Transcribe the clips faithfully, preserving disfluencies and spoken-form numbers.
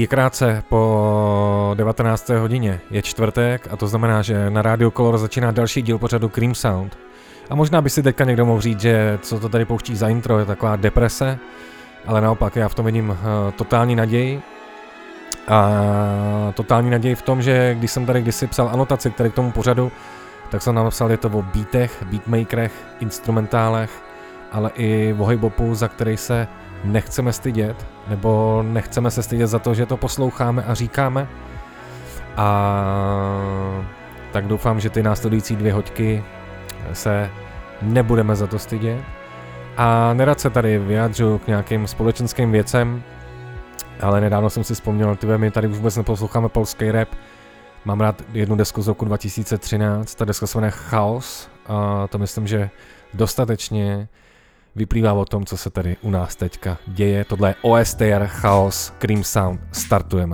krátce po devatenácté hodině je čtvrtek a to znamená, že na Radio Color začíná další díl pořadu Cream Sound. A možná by si teďka někdo mohl říct, že co to tady pouští za intro je taková deprese, ale naopak já v tom vidím uh, totální naději. A totální naději v tom, že když jsem tady kdysi psal anotaci k tomu pořadu, tak jsem napsal, je to o beatech, beatmakerech, instrumentálech, ale i o hip-hopu, za který se nechceme stydět, nebo nechceme se stydět za to, že to posloucháme a říkáme. A tak doufám, že ty následující dvě hoďky se nebudeme za to stydět. A nerad se tady vyjádřu k nějakým společenským věcem, ale nedávno jsem si vzpomněl, tyhle, my tady už vůbec neposloucháme polský rap. Mám rád jednu desku z roku dva tisíce třináct, ta deska se jmenuje Chaos a to myslím, že dostatečně vyplývá o tom, co se tady u nás teďka děje. Tohle je O S T R Chaos Cream Sound. Startujeme.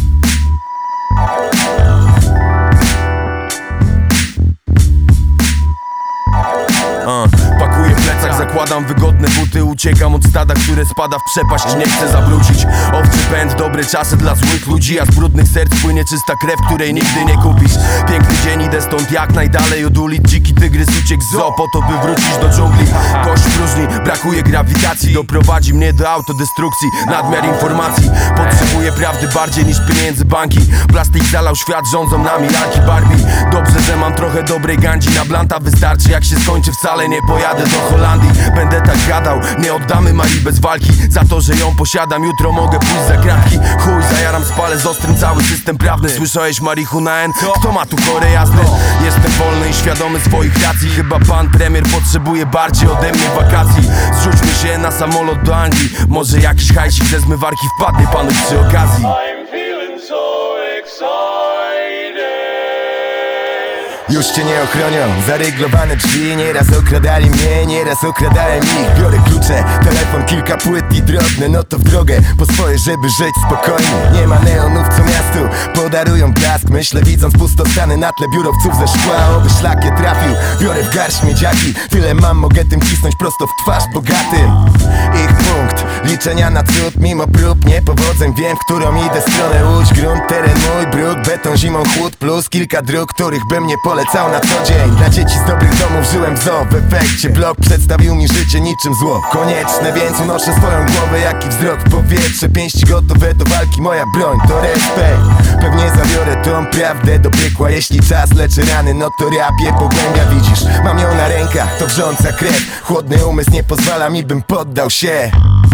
Uh, pakuję plecak, zakładam wygodne buty. Uciekam od stada, które spada w przepaść. Nie chcę zawrócić. Owczy pęd, dobre czasy dla złych ludzi. A z brudnych serc płynie czysta krew, której nigdy nie kupisz. Piękny dzień, idę stąd jak najdalej od ulic. Dziki tygrys uciekł z zoo po to, by wrócić do dżungli. Kość próżni, brakuje grawitacji. Doprowadzi mnie do autodestrukcji. Nadmiar informacji. Potrzebuję prawdy bardziej niż pieniędzy banki. Plastik zalał świat, rządzą nami lalki Barbie. Dobrze, że mam trochę dobrej gandzi. Na blanta wystarczy, jak się skończy wcale nie pojadę do Holandii. Będę tak gadał, nie oddamy Marii bez walki. Za to, że ją posiadam, jutro mogę pójść za kratki. Chuj, zajaram spalę z ostrym cały system prawny. Słyszałeś marihuana N? Kto ma tu chore jazdy? Jestem wolny i świadomy swoich racji. Chyba pan premier potrzebuje bardziej ode mnie wakacji. Zrzućmy się na samolot do Anglii. Może jakiś hajsik ze zmywarki wpadnie panu przy okazji. I'm feeling so excited. Już cię nie ochronią, zaryglowane drzwi. Nieraz okradali mnie, nieraz okradałem ich. Biorę klucze, telefon, kilka płyt i drobne. No to w drogę, po swoje, żeby żyć spokojnie. Nie ma neonów, co miastu podarują blask. Myślę, widząc pustostany na tle biurowców ze szkła. Oby szlak je trafił, biorę w garść miedziaki. Tyle mam, mogę tym cisnąć prosto w twarz bogatym. Ich punkt liczenia na cud, mimo prób niepowodzeń. Wiem, w którą idę stronę. Łódź, grunt, teren mój, brud, beton, zimą chłód. Plus kilka dróg, których bym nie polecał na co dzień. Dla dzieci z dobrych domów żyłem w zoo. W efekcie blok przedstawił mi życie niczym zło konieczne, więc unoszę swoją głowę jak i wzrok w powietrze. Pięści gotowe do walki, moja broń to respekt. Pewnie zabiorę tą prawdę do piekła. Jeśli czas leczy rany, no to rap je pogłębia. Widzisz, mam ją na rękach, to wrząca krew. Chłodny umysł nie pozwala mi, bym poddał się.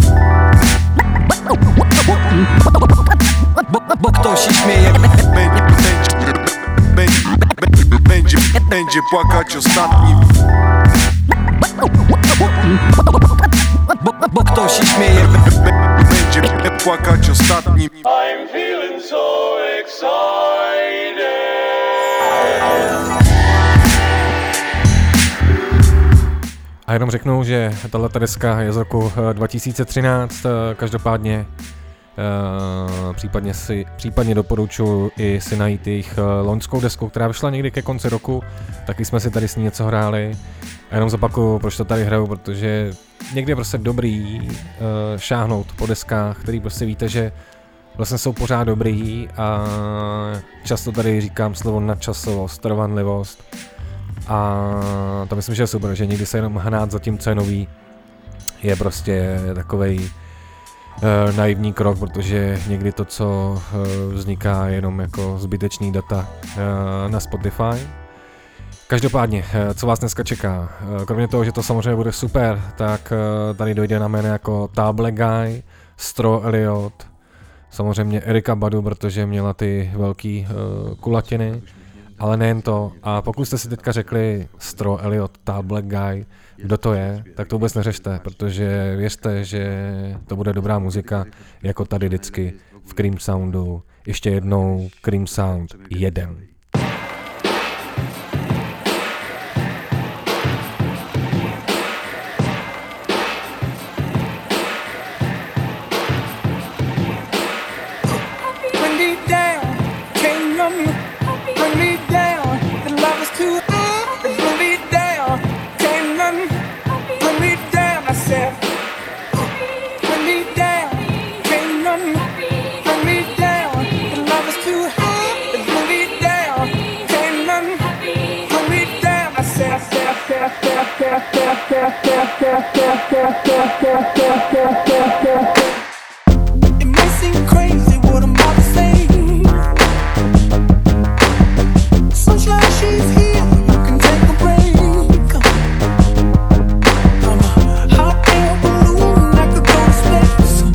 Bo, bo ktoś się śmieje. Będzie, będzie płakać ostatni. Bo, bo ktoś się śmieje. Będzie płakać ostatni. I'm feeling so excited. A jenom řeknu, že tato deska je z roku dva tisíce třináct, každopádně Uh, případně, si, případně doporučuji i si najít jejich uh, loňskou desku, která vyšla někdy ke konci roku, taky jsme si tady s ní něco hráli a jenom zopakuju, proč to tady hraju, protože někdy je prostě dobrý uh, šáhnout po deskách, který prostě víte, že vlastně jsou pořád dobrý a často tady říkám slovo nadčasovost, trvanlivost a to myslím, že je super, že někdy se jenom hnát za tím, co je nový, je prostě takovej Uh, naivní krok, protože někdy to, co uh, vzniká jenom jako zbytečný data uh, na Spotify. Každopádně, uh, co vás dneska čeká? Uh, kromě toho, že to samozřejmě bude super, tak uh, tady dojde na jméno jako Tall Black Guy, Stro Elliot, samozřejmě Erika Badu, protože měla ty velký uh, kulatiny, ale nejen to. A pokud jste si teďka řekli Stro Elliot, Tall Black Guy, kdo to je, tak to vůbec neřešte, protože věřte, že to bude dobrá muzika, jako tady vždycky v Cream Soundu. Ještě jednou Cream Sound jeden. Bring me down, can't nothing bring me down. It may seem crazy what I'm about to say. Sunshine, she's here. You can take a break. I'm a hot air balloon that could go to space.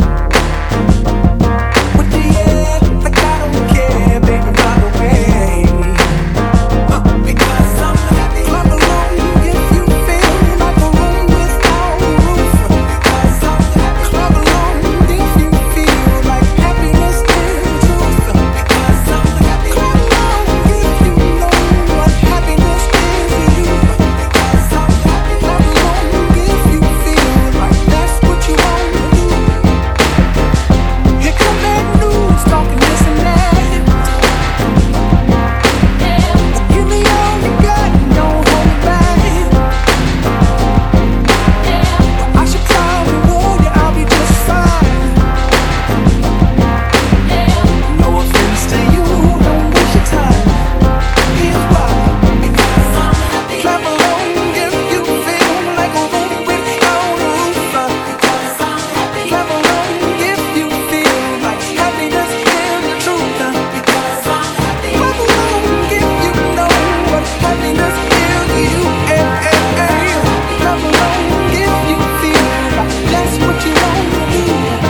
With the air, like I don't care, baby, by the way. Uh, because I'm happy. Clap along if you feel like a room without a roof. Because I'm happy. Clap along if you feel like happiness is the truth. Because I'm happy. Clap along if you know what happiness is to you. Because I'm happy. Clap along if you feel like that's what you want to do. Here come that news talking this and that. Give me all you got, don't hold back. I should cry and warn you, I'll be just fine. No offense to you, don't waste your time. Here's why. Because I'm happy. Clap along if you feel like a room without a roof. Because I'm happy. Clap along if you feel like happiness is the truth. Because I'm happy. Clap along if you know what happiness is to you. Eh, eh, eh. Clap along if you feel like that's what you want to do.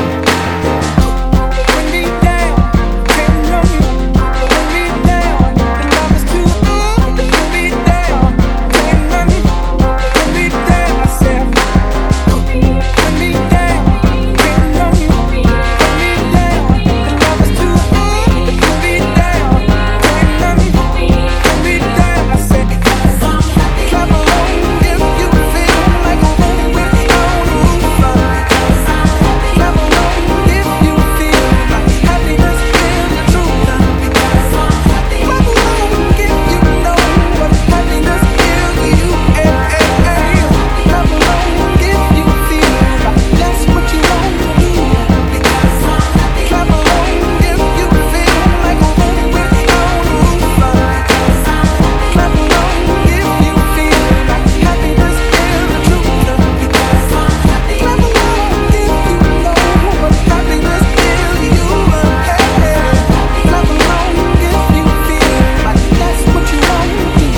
Bring me down, can't run you. Bring me down, the love is too high. Bring me down, can't run you. Bring me down, I said. Bring me down, can't run you. Bring me down, the love is too high. Bring me down, can't run you. Bring me down, I said. Because I'm happy. Clap along if you feel like a room without a roof. Because I'm happy. Clap along if you feel like happiness is the truth. Because I'm happy. Clap along if you know what happiness is to you. Eh, eh, eh. Clap along if you feel like that's what you want to do. Because I'm happy. Clap along if you feel like a room without a roof. Because I'm happy. Clap along if you feel like happiness is the truth. Because I'm happy. Clap along if you know what happiness is to you. Hey, clap along if you feel like that's what you want to do.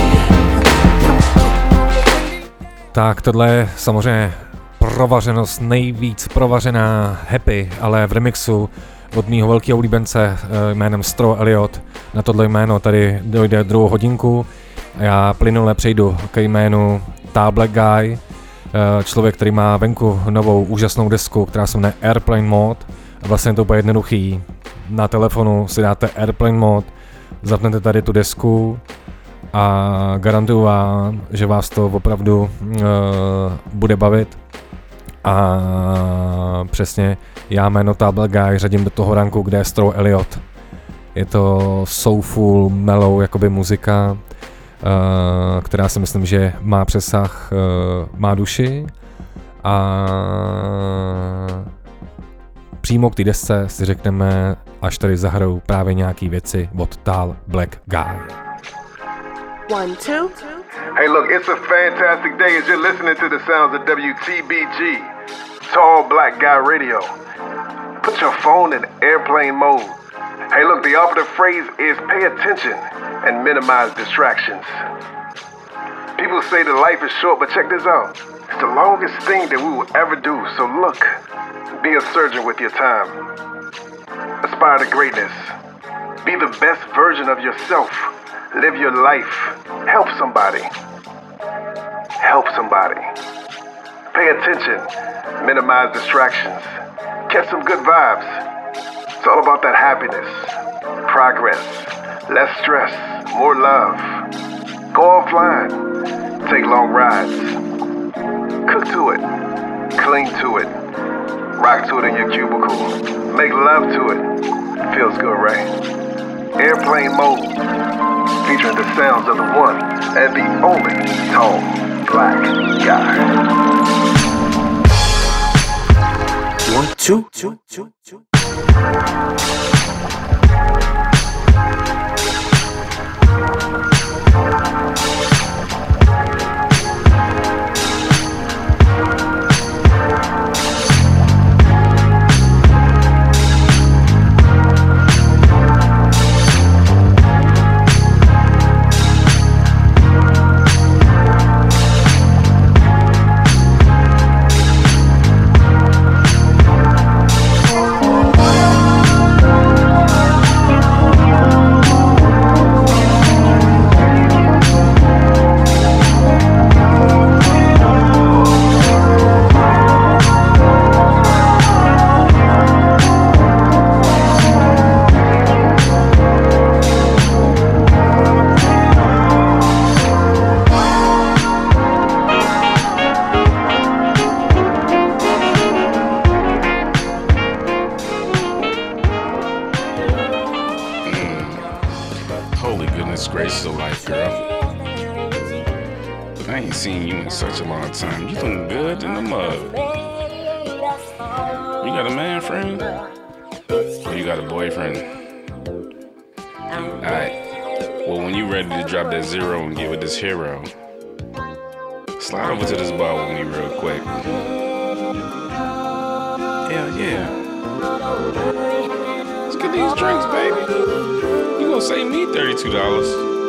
Tak tohle je samozřejmě provařenost, nejvíc provařená Happy, ale v remixu od mýho velkého oblíbence eh, jménem Stro Elliot. Na tohle jméno tady dojde druhou hodinku a já plynule přejdu k jménu Ta Black Guy, eh, člověk, který má venku novou úžasnou desku, která se jmenuje Airplane Mode. A vlastně je to úplně jednoduchý. Na telefonu si dáte Airplane Mode, zapnete tady tu desku a garantuju vám, že vás to opravdu uh, bude bavit. A přesně já jméno Ta Black Guy řadím do toho ranku, kde je Stro Elliot. Je to soulful, mellow jakoby muzika, uh, která si myslím, že má přesah, uh, má duši a přímo k té desce si řekneme, až tady zahrajou právě nějaký věci od Ta Black Guy. One, two. Hey, look, it's a fantastic day as you're listening to the sounds of W T B G, Tall Black Guy Radio. Put your phone in airplane mode. Hey, look, the operative phrase is pay attention and minimize distractions. People say that life is short, but check this out. It's the longest thing that we will ever do, so look, be a surgeon with your time. Aspire to greatness. Be the best version of yourself. Live your life. Help somebody. Help somebody. Pay attention. Minimize distractions. Catch some good vibes. It's all about that happiness. Progress. Less stress. More love. Go offline. Take long rides. Cook to it. Cling to it. Rock to it in your cubicle. Make love to it. Feels good, right? Airplane Mode. Featuring the sounds of the one and the only Tall Black Guy. One, two, two, two, two. Holy goodness gracious of life, girl. Look, I ain't seen you in such a long time. You looking good in the mug. You got a man friend? Or you got a boyfriend? Alright. Well, when you ready to drop that zero and get with this hero, slide over to this bar with me real quick. Hell yeah. Let's get these drinks, baby. You gonna save me thirty-two dollars.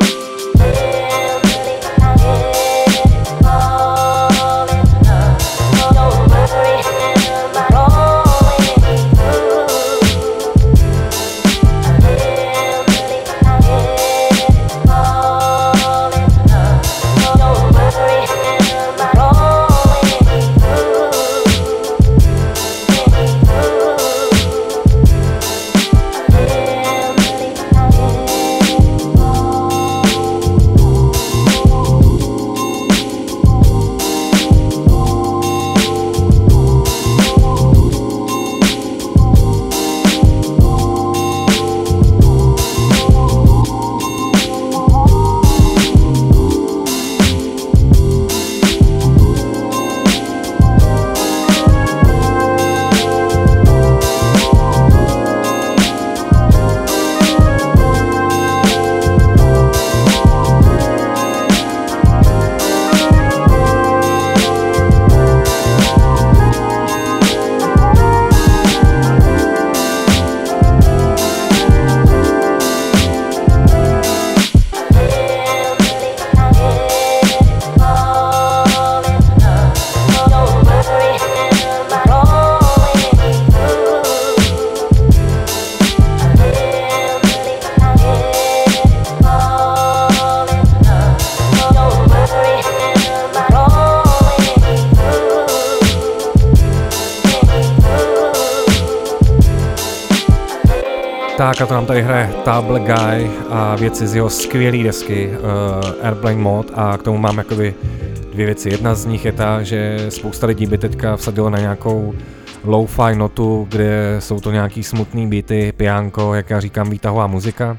Tak a to nám tady hraje Table Guy a věci z jeho skvělé desky uh, Airplane Mode a k tomu mám jakoby dvě věci. Jedna z nich je ta, že spousta lidí by teďka vsadilo na nějakou lo-fi notu, kde jsou to nějaký smutný beaty, piánko, jak já říkám, výtahová muzika.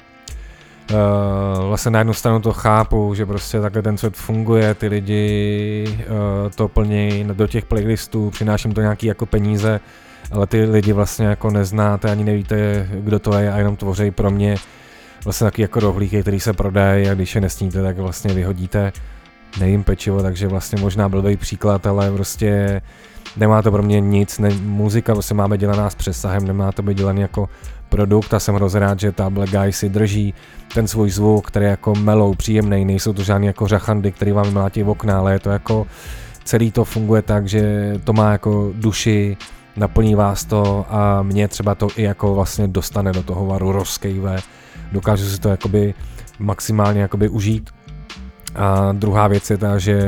Uh, vlastně na jednu stranu to chápu, že prostě takhle ten svět funguje, ty lidi uh, to plní do těch playlistů, přináším to nějaký jako peníze, ale ty lidi vlastně jako neznáte, ani nevíte, kdo to je a jenom tvoří pro mě vlastně taky jako rohlíky, který se prodají a když je nesníte, tak vlastně vyhodíte. Nejím pečivo, takže vlastně možná blbý příklad, ale prostě nemá to pro mě nic, ne, muzika vlastně máme dělaná s přesahem, nemá to být dělaný jako produkt a jsem hrozně rád, že Table Guy si drží ten svůj zvuk, který je jako mellow, příjemný, nejsou to žádný jako řachandy, který vám mlátí v okna, ale je to jako celý to funguje tak, že to má jako duši, naplní vás to a mě třeba to i jako vlastně dostane do toho varu, rozkejve, dokážu si to jakoby maximálně jakoby užít. A druhá věc je ta, že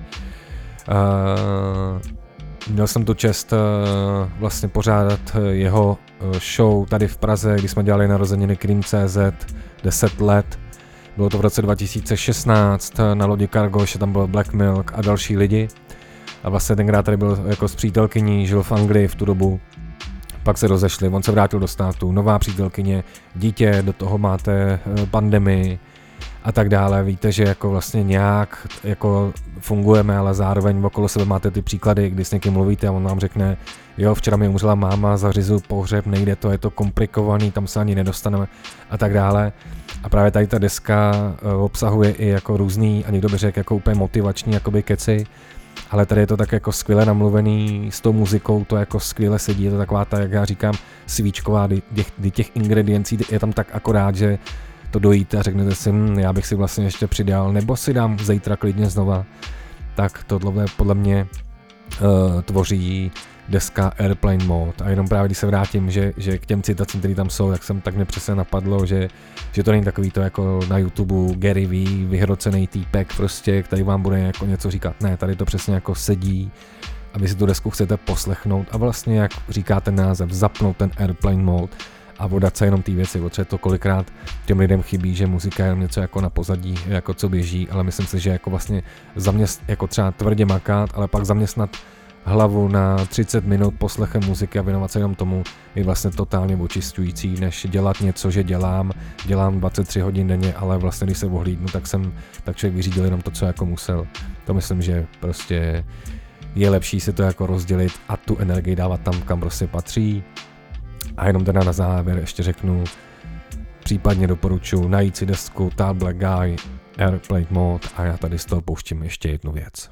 uh, měl jsem tu čest uh, vlastně pořádat jeho show tady v Praze, kdy jsme dělali narozeniny Cream tečka cé zet, deset let. Bylo to v roce dva tisíce šestnáct, na lodi Cargo, ještě tam byl Black Milk a další lidi. A vlastně tenkrát tady byl jako s přítelkyní, žil v Anglii v tu dobu. Pak se rozešli, on se vrátil do státu, nová přítelkyně, dítě, do toho máte pandemii a tak dále. Víte, že jako vlastně nějak jako fungujeme, ale zároveň okolo sebe máte ty příklady, kdy s někým mluvíte a on vám řekne, jo, včera mi umřela máma, zařizuju pohřeb, nejde to, je to komplikovaný, tam se ani nedostaneme a tak dále. A právě tady ta deska obsahuje i jako různý, a někdo by řekl jako úplně motivační jakoby keci, ale tady je to tak jako skvěle namluvený s tou muzikou, to jako skvěle sedí, je to taková ta, jak já říkám, svíčková, kdy těch, kdy těch ingrediencí je tam tak akorát, že to dojíte a řeknete si, hm, já bych si vlastně ještě přidal, nebo si dám zítra klidně znova. Tak tohle podle mě uh, tvoří deska Airplane Mode. A jenom právě když se vrátím, že, že k těm citacím, které tam jsou, tak jsem tak mě přesně napadlo, že, že to není takový to jako na YouTube Gary Vee, vyhrocený týpek prostě, který vám bude jako něco říkat. Ne, tady to přesně jako sedí a vy si tu desku chcete poslechnout a vlastně, jak říká ten název, zapnout ten Airplane Mode a vodat se jenom ty věci, protože to kolikrát těm lidem chybí, že muzika je něco jako na pozadí, jako co běží, ale myslím si, že jako vlastně zaměst, jako třeba tvrdě makat, ale pak zaměstnat hlavu na třicet minut poslechem muziky a věnovat se jenom tomu je vlastně totálně očišťující, než dělat něco, že dělám, dělám dvacet tři hodin denně, ale vlastně když se ohlídnu, tak jsem tak člověk vyřídil jenom to, co jako musel. To myslím, že prostě je lepší si to jako rozdělit a tu energii dávat tam, kam prostě patří. A jenom teda na závěr ještě řeknu, případně doporučuji najít si desku Tall Black Guy, Airplane Mode a já tady z toho pouštím ještě jednu věc.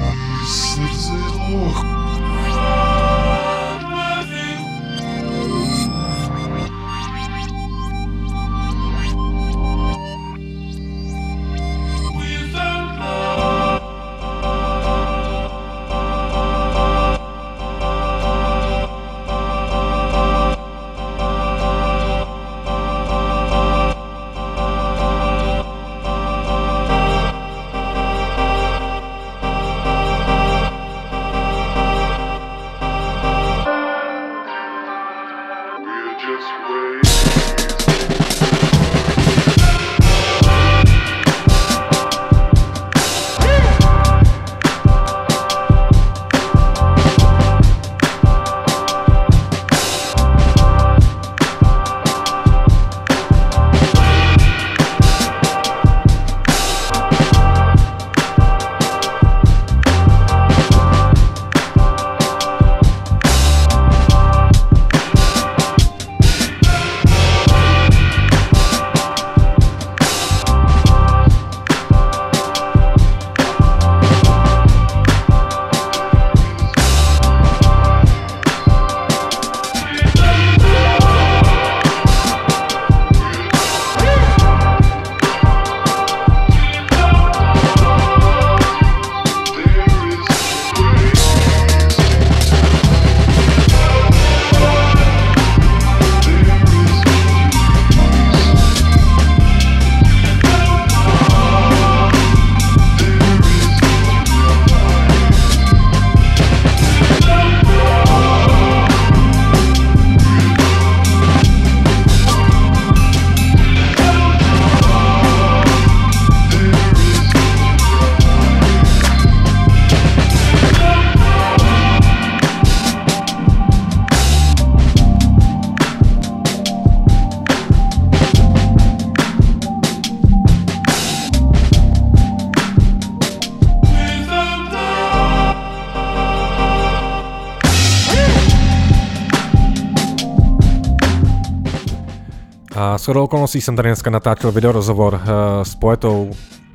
A shodou okolností jsem tady dneska natáčel video rozhovor uh, s poetou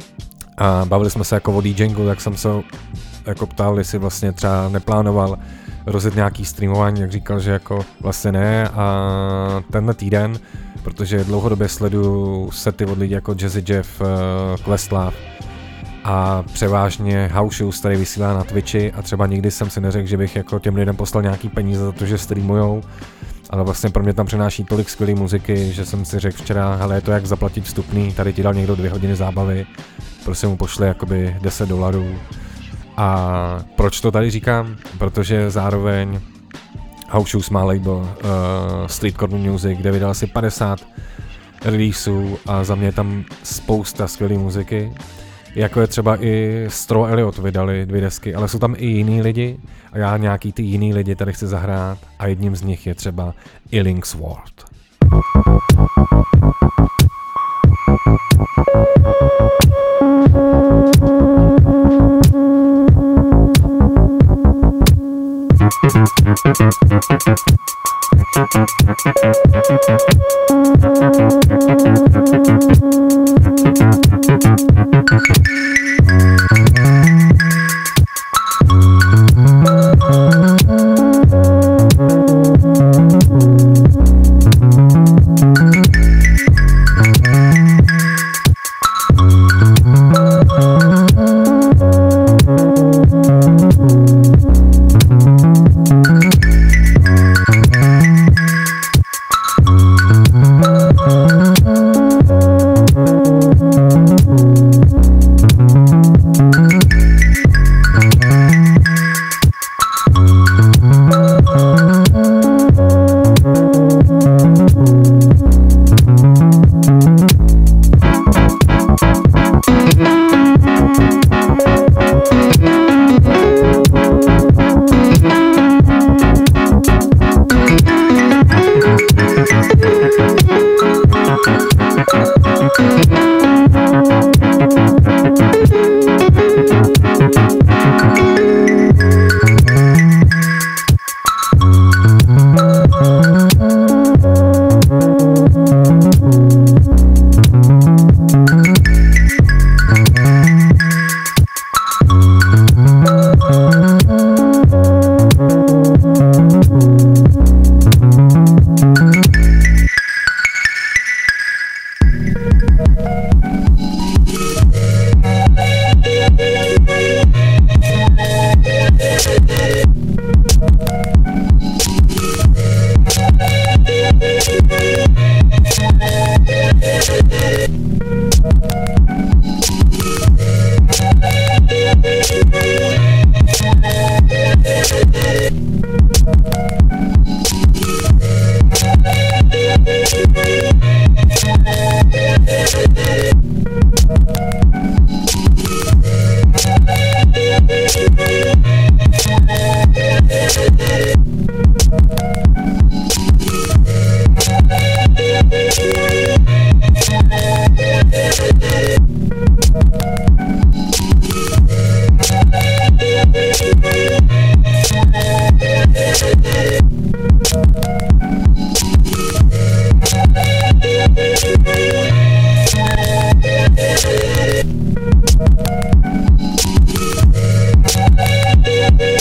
a bavili jsme se jako o DJingu, tak jsem se jako ptal, jestli vlastně třeba neplánoval rozjet nějaký streamování, jak říkal, že jako vlastně ne a tenhle týden, protože dlouhodobě sleduju sety od lidí jako Jazzy Jeff, uh, Questlove a převážně House Shoes tady vysílá na Twitchi a třeba nikdy jsem si neřekl, že bych jako těm lidem poslal nějaký peníze za to, že streamujou, ale vlastně pro mě tam přináší tolik skvělé muziky, že jsem si řekl včera, hele, je to jak zaplatit vstupný, tady ti dal někdo dvě hodiny zábavy, prostě mu pošle jakoby deset dolarů. A proč to tady říkám? Protože zároveň House Shoes má label uh, Street Corner Music, kde vydal asi padesát releaseů a za mě je tam spousta skvělé muziky. Jako je třeba i Straw Elliot vydali dvě desky, ale jsou tam i jiný lidi a já nějaký ty jiný lidi tady chci zahrát a jedním z nich je třeba Illingsworth.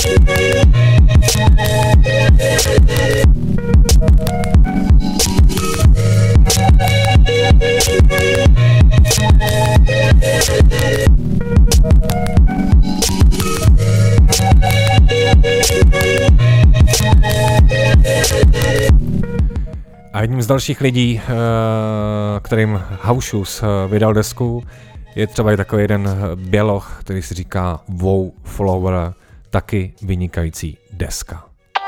A jedním z dalších lidí, kterým House Shoes vydal desku, je třeba i takový jeden běloch, který si říká Wow Flower, taky vynikající deska.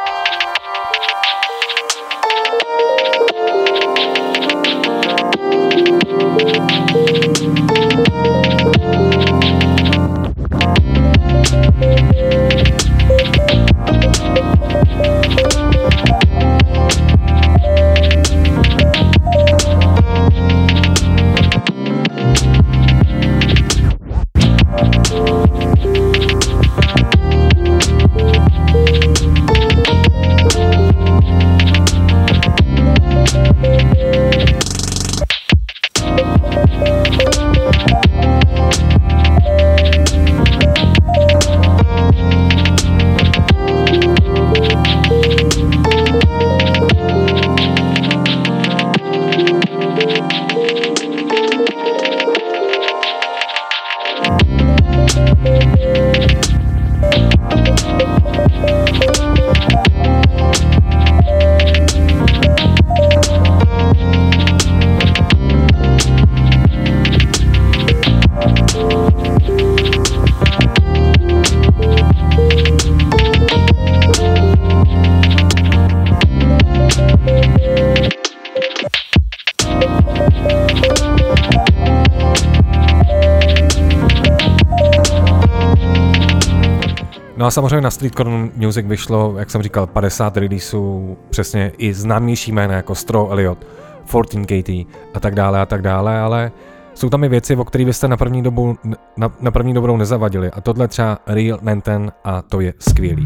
No a samozřejmě na Streetcore Music vyšlo, jak jsem říkal, padesát releaseů, přesně i známější jména jako Straw Elliot, čtrnáct Katie a tak dále a tak dále, ale jsou tam i věci, o kterých byste na první dobu, na, na první dobrou nezavadili a tohle třeba Real Nanten a to je skvělý.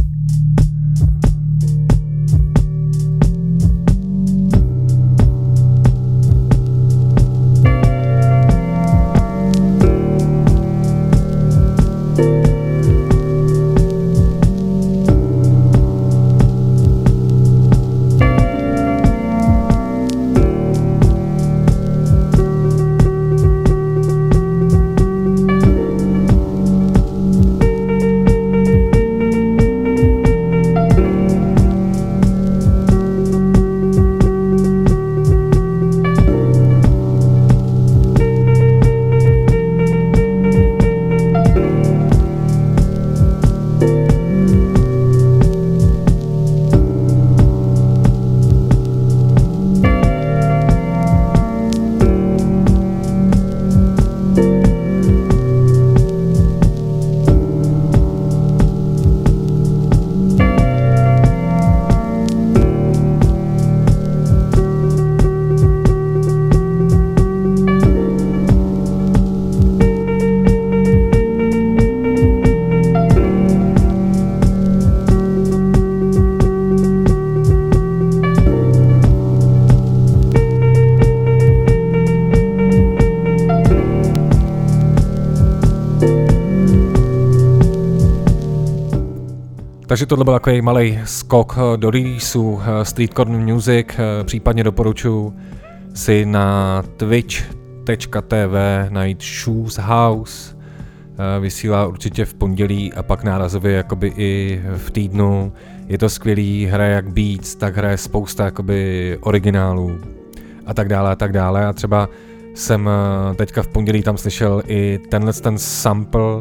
Takže tohle byl takový malý skok do releaseu Streetcore Music, případně doporučuji si na twitch tečka tv najít Shoes House, vysílá určitě v pondělí a pak nárazově jakoby i v týdnu. Je to skvělý, hraje jak beats, tak hraje spousta jakoby originálů a tak dále a tak dále a třeba jsem teďka v pondělí tam slyšel i tenhle ten sample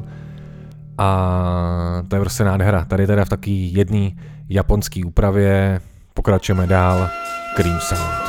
a to je prostě nádhera. Tady teda v taký jedný japonský úpravě pokračujeme dál. Cream Sound.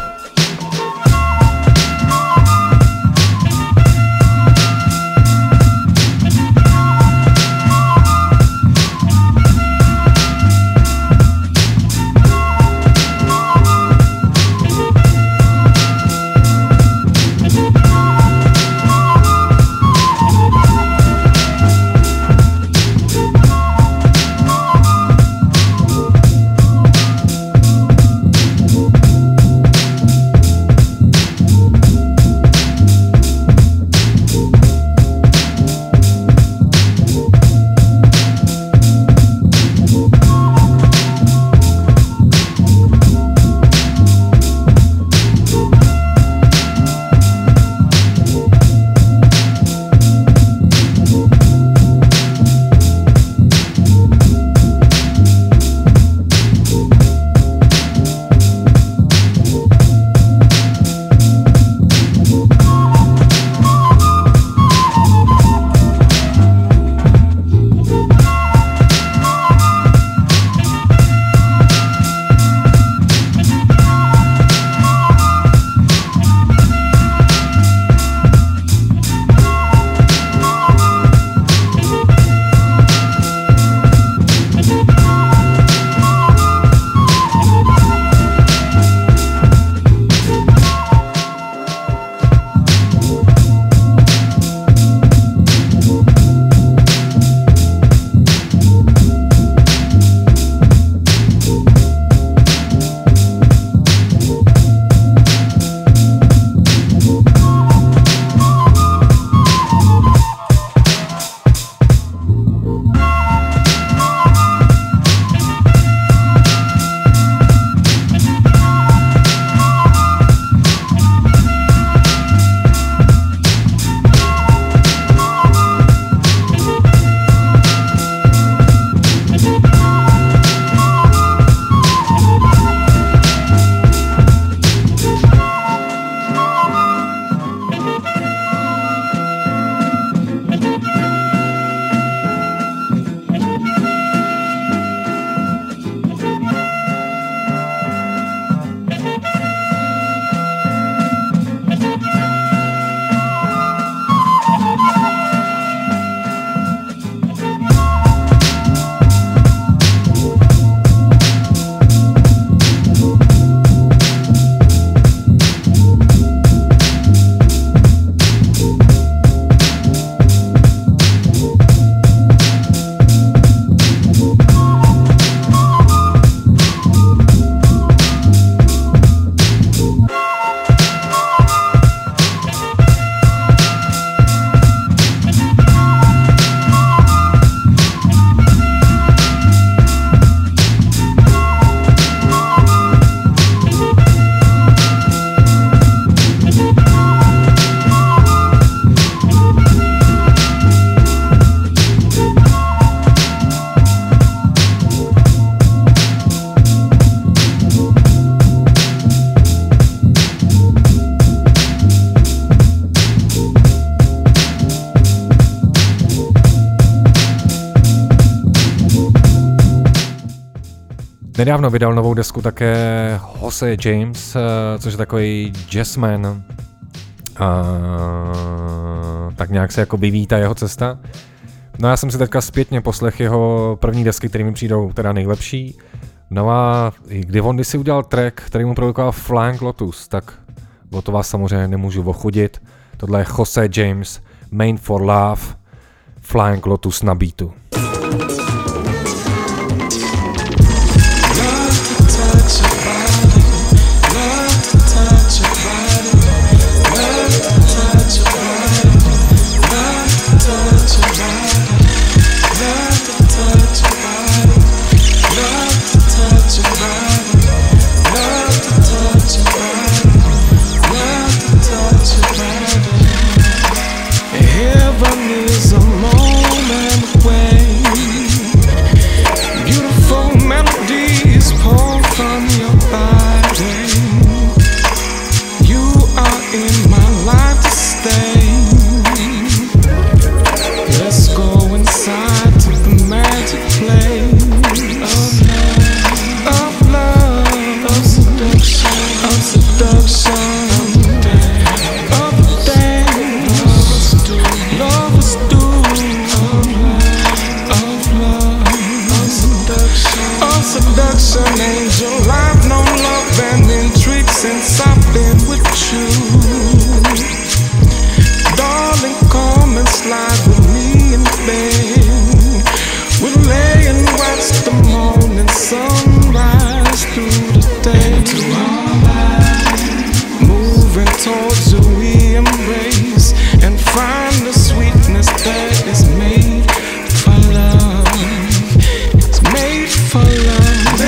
Nedávno vydal novou desku také Jose James, což je takový jazzman. A tak nějak se jako vyvíjí ta jeho cesta. No já jsem si teďka zpětně poslech jeho první desky, které mi přijdou teda nejlepší. No a kdy on si udělal track, který mu produkoval Flying Lotus, tak o to vás samozřejmě nemůžu ochudit. Tohle je Jose James, Made for Love, Flying Lotus na beatu. Heaven is a moment away. Beautiful melodies pour from your body. You are in my life to stay. Let's go inside to the magic place of love, of seduction, of seduction. Seduction, angel, I've known love and intrigue since I've been with you. Darling, come and slide with me in bed. We'll lay and watch the morning sunrise through the day. Moving towards you, we embrace and find the sweetness that is made for love. It's made for love.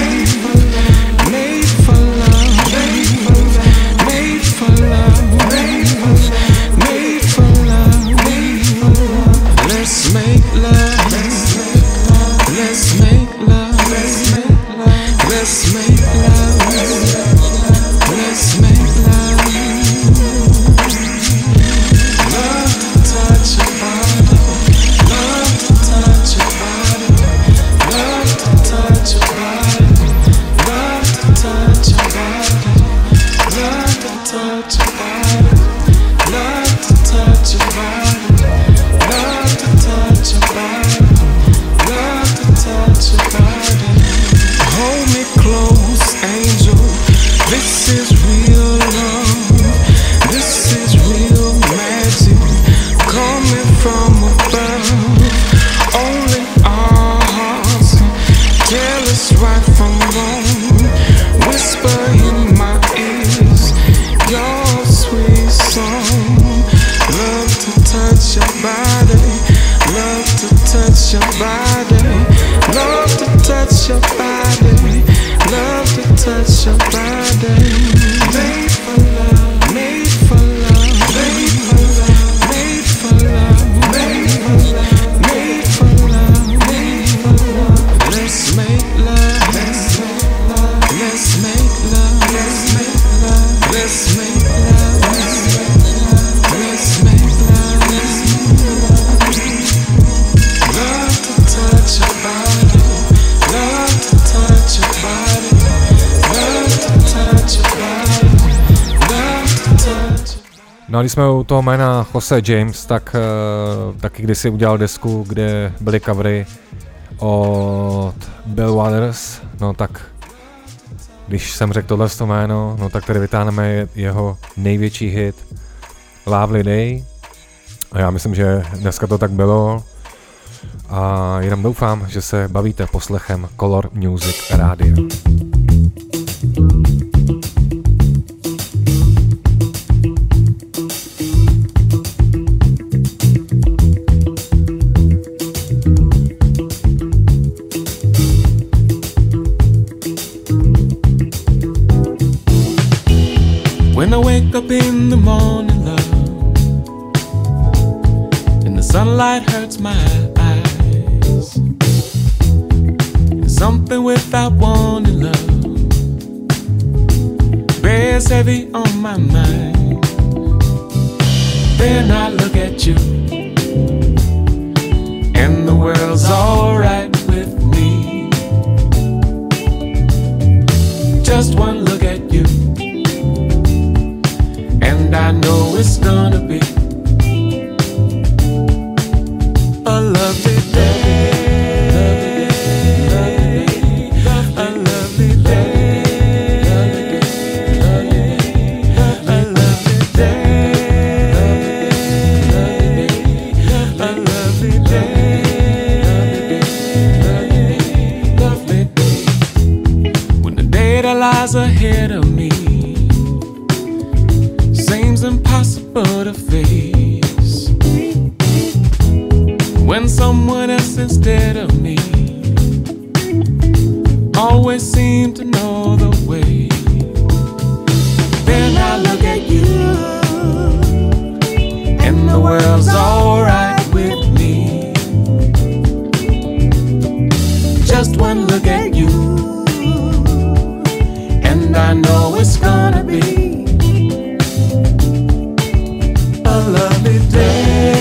No a když jsme u toho jména Jose James, tak uh, taky kdysi udělal desku, kde byly covery od Bill Waters, no tak když jsem řekl tohle jméno, no tak tady vytáhneme jeho největší hit Lovely Day a já myslím, že dneska to tak bylo a jenom doufám, že se bavíte poslechem Color Music Radio. When I wake up in the morning, love, and the sunlight hurts my eyes, and something without warning, love, bears heavy on my mind. Then I look at you, and the world's alright with me. lies ahead of me seems impossible to face. When someone else instead of me always seem to know the way. Then I look at you and the world's alright with me. Just one look at you and I know it's gonna be a lovely day.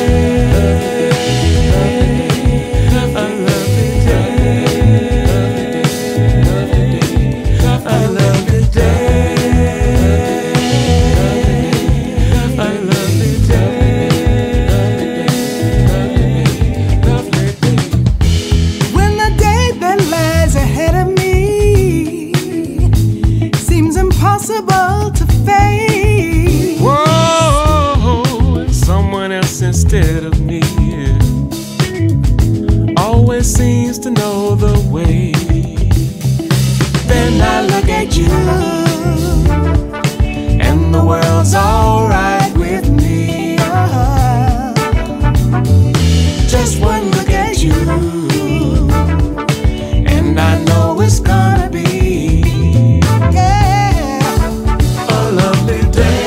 Instead of me, always seems to know the way. Then I look at you, and the world's alright with me. Just one look at you, and I know it's gonna be, yeah, a lovely day.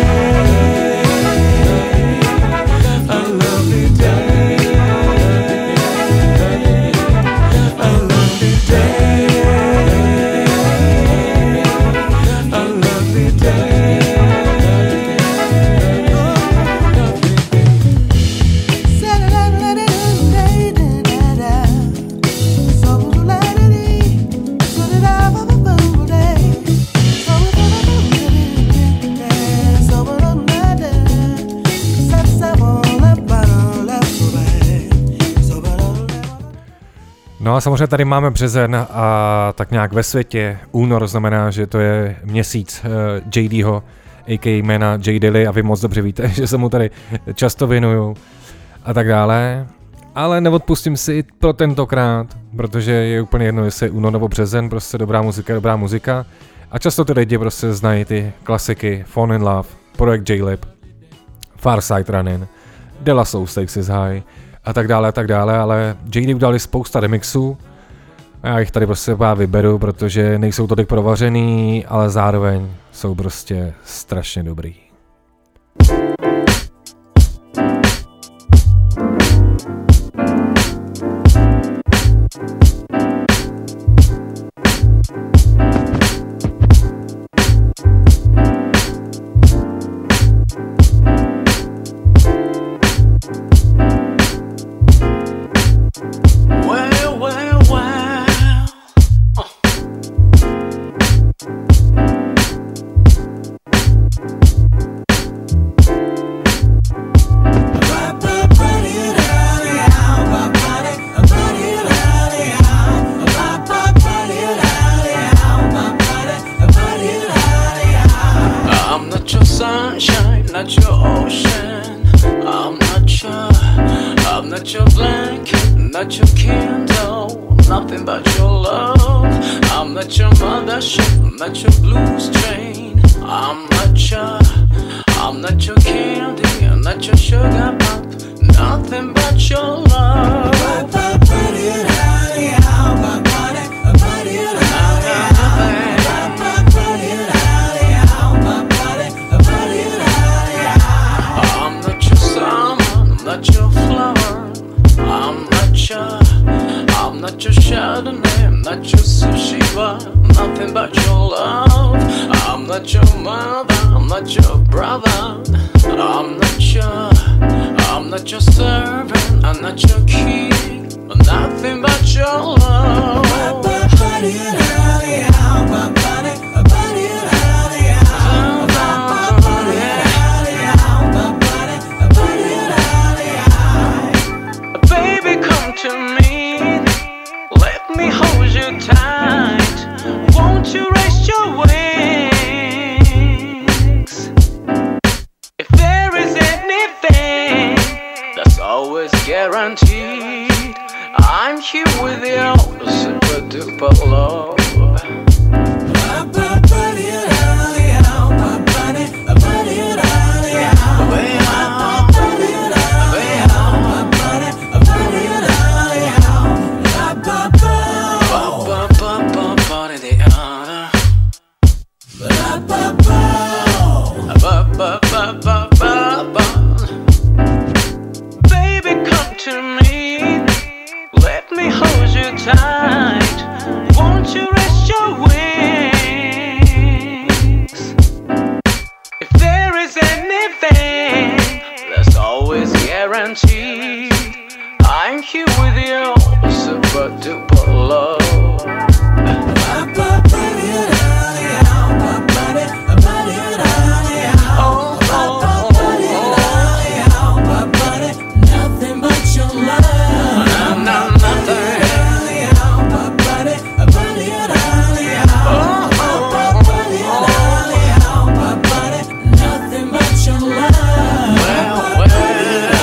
No a samozřejmě tady máme březen a tak nějak ve světě únor znamená, že to je měsíc uh, J Dho, a k a jména J Dilly a vy moc dobře víte, že se mu tady často věnuju a tak dále. Ale neodpustím si pro tentokrát, protože je úplně jedno, jestli je únor nebo březen, prostě dobrá muzika, dobrá muzika. A často ty lidi prostě znají ty klasiky Fall in Love, Projekt J-Lib, Far Side Running, De La Soul Stakes is High a tak dále a tak dále, ale J D udali spousta remixů a já jich tady prostě pár vyberu, protože nejsou tolik provařený, ale zároveň jsou prostě strašně dobrý. I'm here with you, super duper love. I'm here with you, super duper love. Nothing but your love. Nah, nothing. Nothing but your love. Well, well.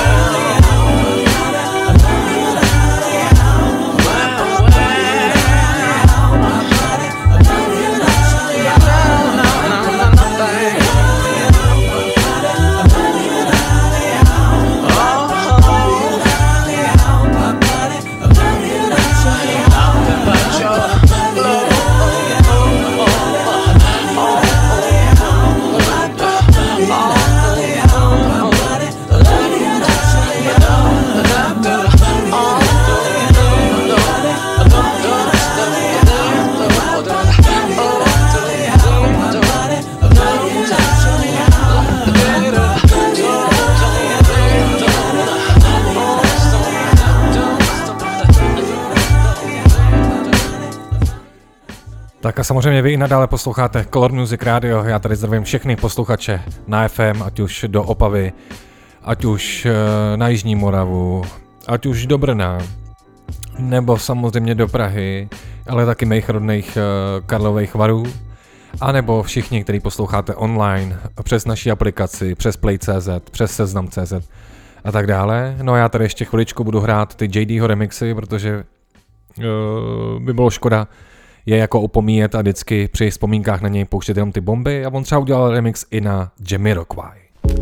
Tak a samozřejmě vy i nadále posloucháte Color Music Radio, já tady zdravím všechny posluchače na F M, ať už do Opavy, ať už na Jižní Moravu, ať už do Brna, nebo samozřejmě do Prahy, ale taky mých rodných Karlových Varů, anebo všichni, kteří posloucháte online, přes naši aplikaci, přes Play tečka cé zet, přes Seznam tečka cé zet a tak dále. No a já tady ještě chviličku budu hrát ty J Dho remixy, protože uh, by bylo škoda je jako opomíjet a vždycky při vzpomínkách na něj pouštět jenom ty bomby a on třeba udělal remix i na Jamiroquai.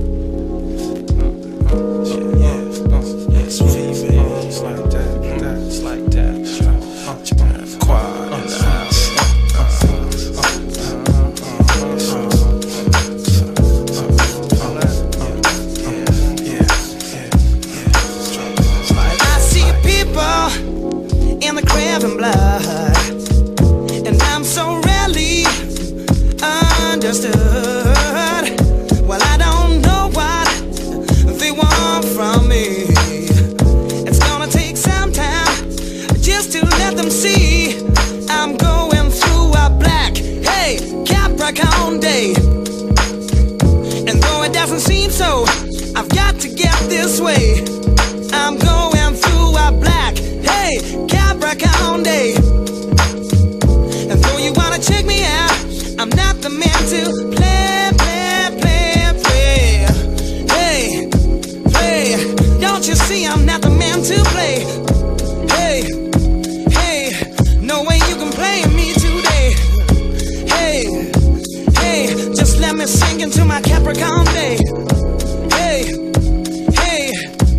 Understood. Well, I don't know what they want from me. It's gonna take some time just to let them see I'm going through a black, hey, Capricorn day. And though it doesn't seem so, I've got to get this way. I'm going through a black, hey, Capricorn day. And though you wanna check me out, I'm not the man to play, play, play, play. Hey, play. Don't you see I'm not the man to play? Hey, hey. No way you can play me today. Hey, hey. Just let me sink into my Capricorn day. Hey, hey.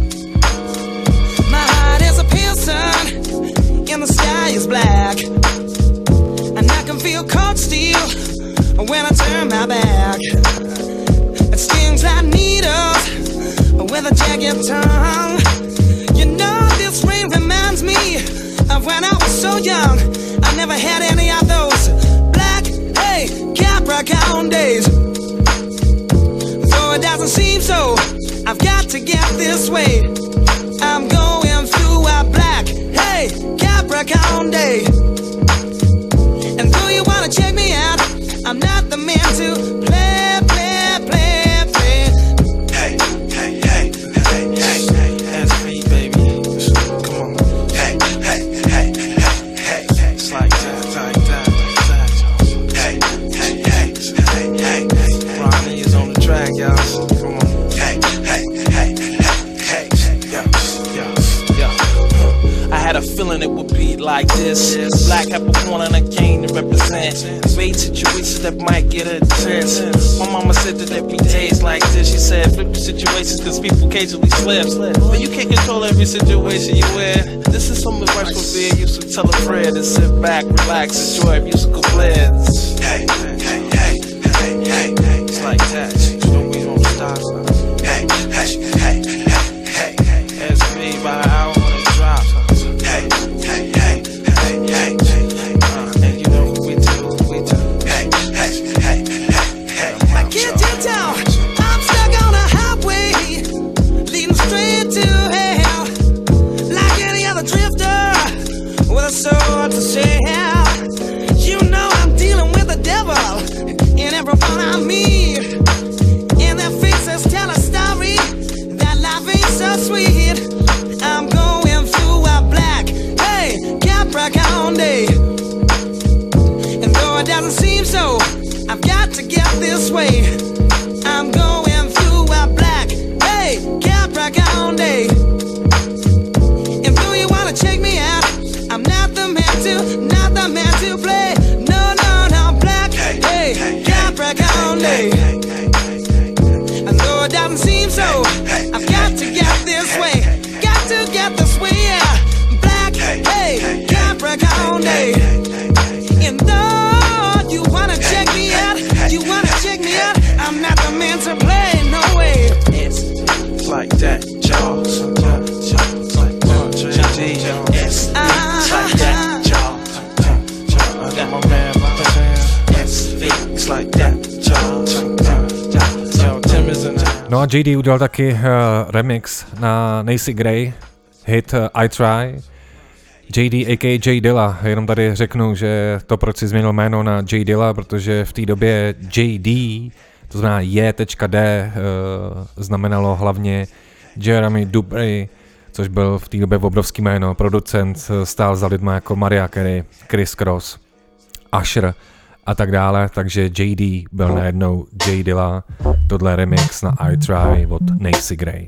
My heart is a pale sun and the sky is black. And I can feel cold steel when I turn my back. It stings like needles with a jagged tongue. You know this rain reminds me of when I was so young. I never had any of those black, hey, Capricorn days. Though it doesn't seem so, I've got to get this way. I'm going through a black, hey, Capricorn day. And though you wanna check me out, I'm not the man to play, play, play, play. Hey, hey, hey, hey, hey, hey, that's me, baby. Come on. Hey, hey, hey, hey, hey, hey. It's like that, like that, like that. Hey, hey, hey, hey, hey, hey. Ronnie is on the track, y'all. Come on. Hey, hey, hey, hey, hey, yeah, yeah, yeah. I had a feeling it would be like this. Black Capricorn and I came to represent. Evade situations that might get a chance. My mama said that every day is like this. She said flip your situations cause people occasionally slip. But you can't control every situation you in. This is some advice from being used to tell a friend to sit back, relax, enjoy musical blends. Hey, hey, hey, hey, hey, hey. It's like that. You know we don't stop. Hey, hey, hey, hey, hey, hey. That's me by an hour when it drops. Hey, hey, hey, hey, hey, hey. Uh, and you know what we do, we do. Hey, hey, hey, hey, hey. I can't you tell? I'm stuck on a highway leading straight to hell. day. I know it doesn't seem so. I've got to get this way. Got to get this way, yeah. Black, hey, Capricorn day. And though you wanna check me out, you wanna check me out, I'm not the man to play, no way. It's like that, y'all. It's like that, J D. It's like that, y'all. I got my man It's like that, y'all. Tim is in the No a J D udělal taky uh, remix na Nancy Gray, hit uh, I Try. J D a k a. J Dilla, jenom tady řeknu, že to proč si změnil jméno na J Dilla, protože v té době J D, to znamená J D, uh, znamenalo hlavně Jeremy Dupri, což byl v té době obrovský jméno, producent, stál za lidma jako Mariah Carey, Chris Cross, Usher a tak dále, takže J D byl najednou J Dilla, tohle remix na I Try od Nancy Gray.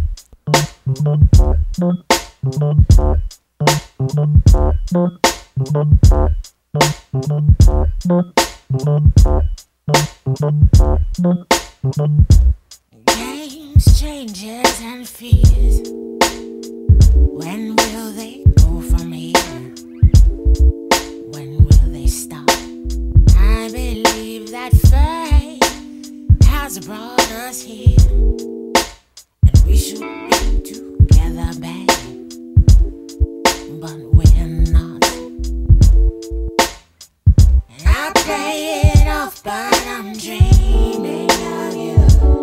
Games, changes and fears. When will they go from here? When will they stop? I believe that fate has brought us here, and we should be together, babe, but we're not. And I play it off, but I'm dreaming of you.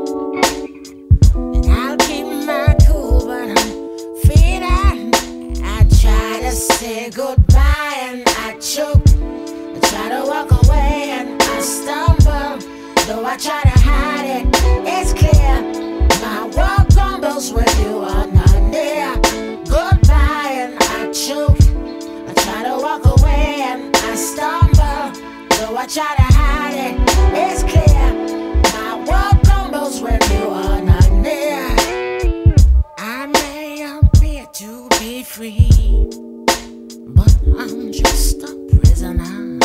And I'll keep my cool, but I'm feeling. I try to say goodbye and I choke. I try to walk away and I stumble. Though I try to hide it, it's clear. My world crumbles when you are not near. Goodbye and I choke. I try to walk away and I stumble. Though I try to hide it, it's clear. My world crumbles when you are not near. I may appear to be free, but I'm just a prisoner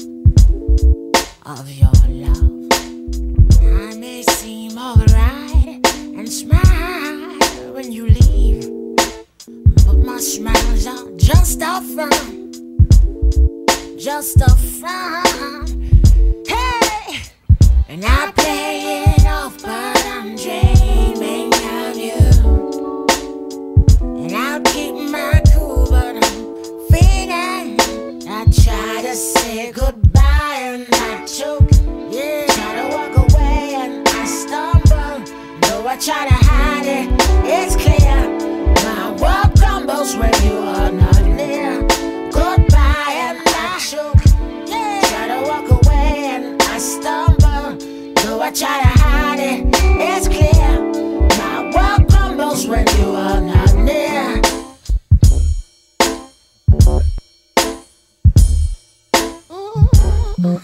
of your love. I may seem alright and smile when you leave, but my smiles are just a front, just a front. Hey, and I play it off, but I'm dreaming of you. And I'll keep my cool, but I'm feeling. I try to say goodbye and I choke. Yeah, try to walk away and I stumble. Though I try to hide it, it's clear. My world crumbles when you are not near. Goodbye and I choke. Yeah, try to walk away and I stumble. Though I try to hide it, it's clear. My world crumbles when you are not near. Ooh.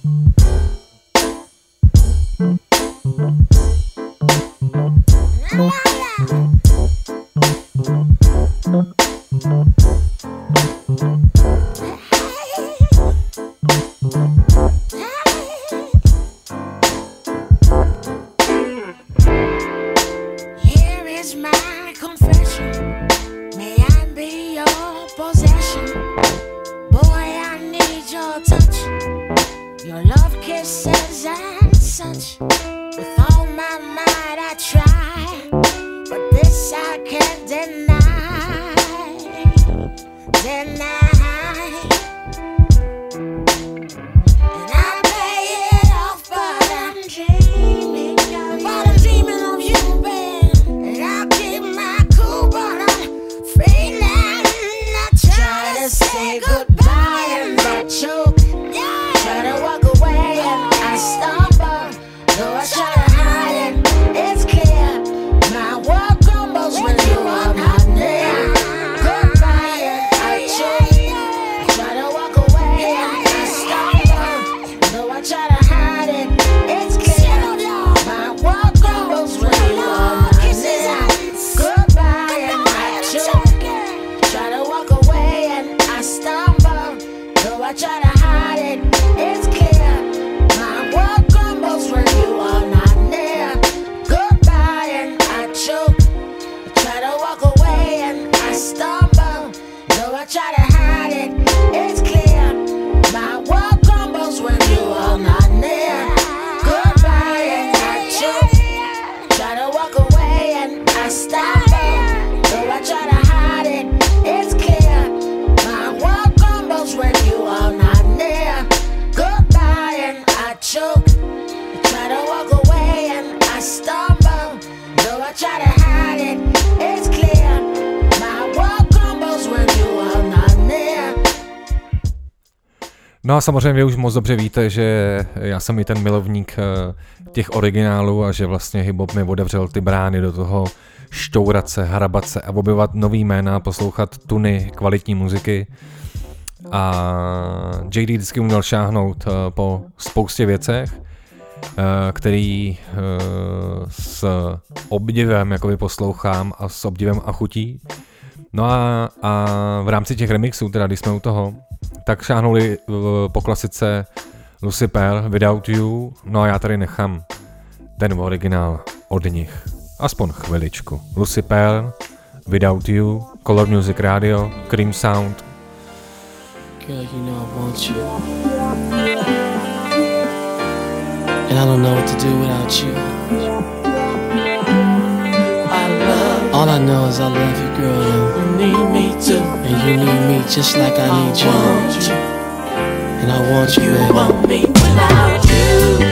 Here is my confession. May I be your possession? Boy, I need your touch, your love kisses and such. With all my might I try, but this I can't deny, deny. And I play it off, but I'm dreaming of you. But I'm dreaming of you, babe. And I keep my cool, but I'm feeling. I try to say goodbye and I choke. Yeah. Try to walk away and I stumble. Though I try to hide it, it's clear. My world crumbles when you are not near. Goodbye and I choke. Try to walk away and I stumble. Though I try to hide it, it's clear. My world crumbles when you are not near. Goodbye and I choke. Try to walk away and I stumble. Though I try to hide it, it's clear. My world crumbles when No a samozřejmě vy už moc dobře víte, že já jsem i ten milovník těch originálů a že vlastně hip-hop mi otevřel ty brány do toho šťourat se, hrabat se a objevovat nový jména, poslouchat tuny kvalitní muziky. A J D vždycky uměl šáhnout po spoustě věcech, který s obdivem jakoby poslouchám a s obdivem a chutí. No a, a v rámci těch remixů, teda když jsme u toho, tak šáhnuli po klasice Lucy Pearl, Without You, no a já tady nechám ten originál od nich. Aspoň chviličku. Lucy Pearl, Without You, Color Music Radio, Cream Sound. Girl, you know I want you. And I don't know what to do without you. I love All I know is I love you, girl. You need me too. And you need me just like I need I you. Want you. And I want you, you baby. You want me without you.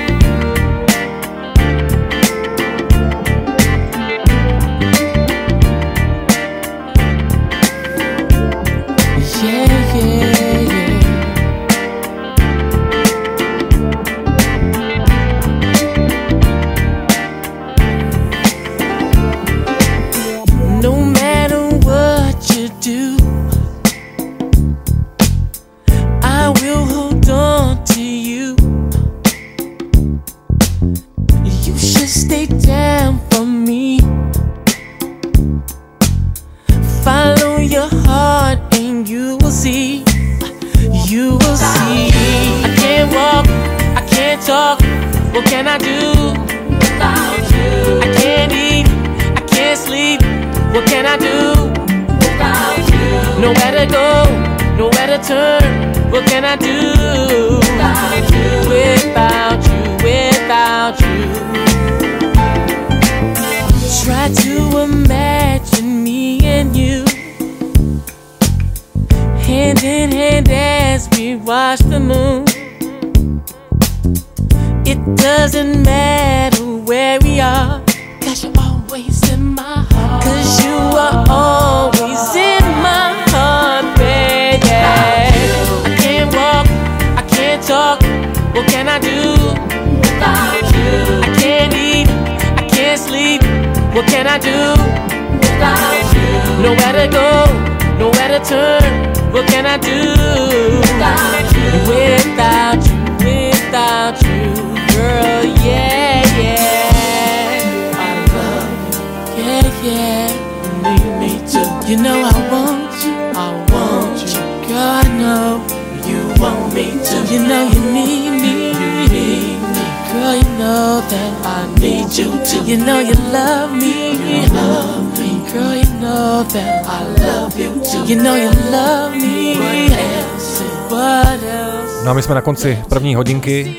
No a my jsme na konci první hodinky.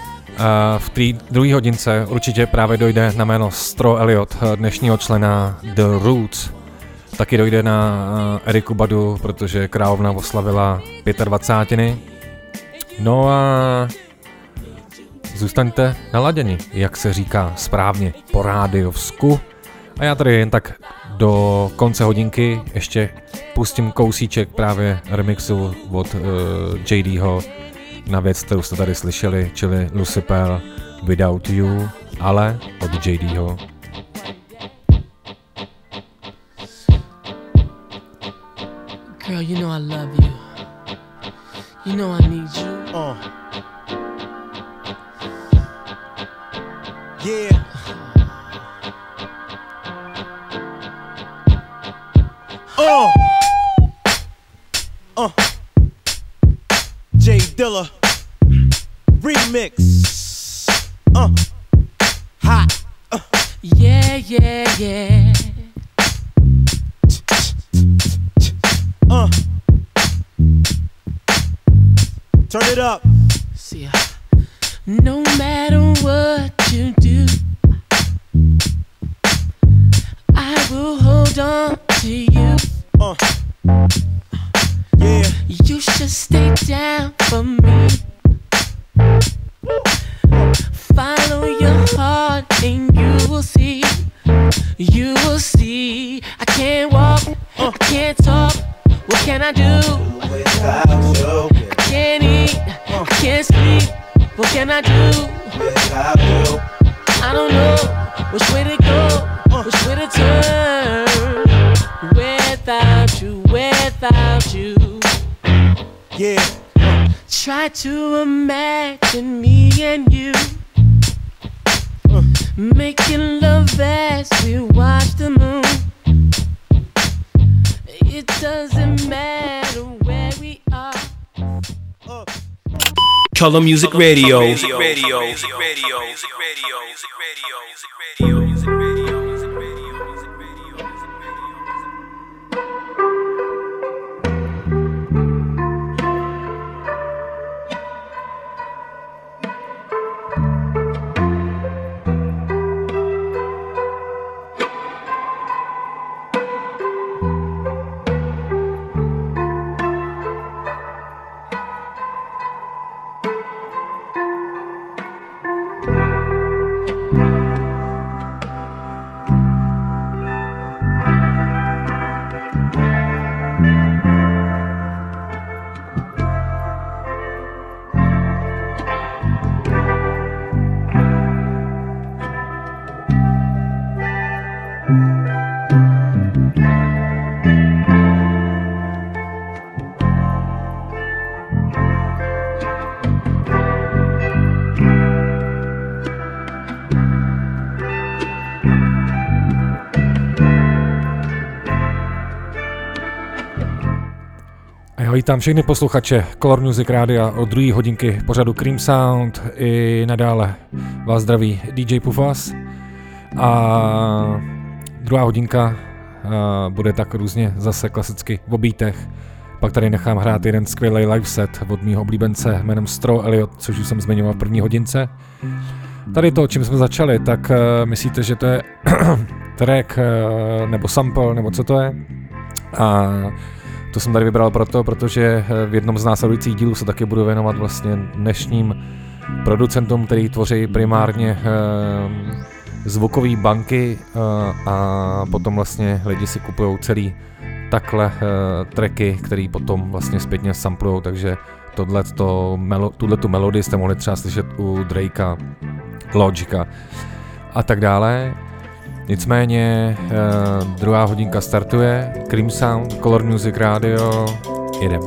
V té druhé hodince určitě právě dojde na jméno Stro Elliot, dnešního člena The Roots. Taky dojde na Eriku Badu, protože královna oslavila dvacátiny. No a zůstaňte naladěni, jak se říká správně, po rádiovsku. A já tady jen tak do konce hodinky ještě pustím kousíček právě remixu od uh, J Dho na věc, kterou jste tady slyšeli, čili Lucy Pearl, Without You, ale od J Dho. Girl, you know I love you. You know I need you. Uh. Yeah. Uh. Uh. J Dilla remix. Uh. Hot. Uh. Yeah, yeah, yeah. Uh. Turn it up. See, no matter what you do, I will hold on to you. Uh. Yeah. You should stay down for me. Follow your heart and you will see. You will see. I can't walk, uh. I can't talk. What can I do? Without you. I can't eat. can't sleep. What can I do? Yes, I do. I don't know which way to go, which way to turn. Without you, without you. Yeah. Try to imagine me and you uh. making love as we watch the moon. It doesn't matter where we are. Uh. Color Music Radio. Music Radio. Music Radio. Music Radio. Music Radio. Music Radio. Music Radio. Vítám všechny posluchače Color Music Rádia od druhé hodinky pořadu Cream Sound. I nadále vás zdraví D J Pufas. A druhá hodinka bude tak různě zase klasicky v beatech. Pak tady nechám hrát jeden skvělý live set od mýho oblíbence jménem Straw Elliot, což už jsem zmiňoval v první hodince. Tady to, čím jsme začali, tak myslíte, že to je track nebo sample, nebo co to je? A to jsem tady vybral proto, protože v jednom z následujících dílů se taky budu věnovat vlastně dnešním producentům, který tvoří primárně eh, zvukové banky eh, a potom vlastně lidi si kupují celý takhle eh, tracky, který potom vlastně zpětně samplujou, takže tohleto, melo, tuhletu melodii jste mohli třeba slyšet u Drakea, Logica a tak dále. Nicméně eh, druhá hodinka startuje, Cream Sound, Color Music Radio, jedem.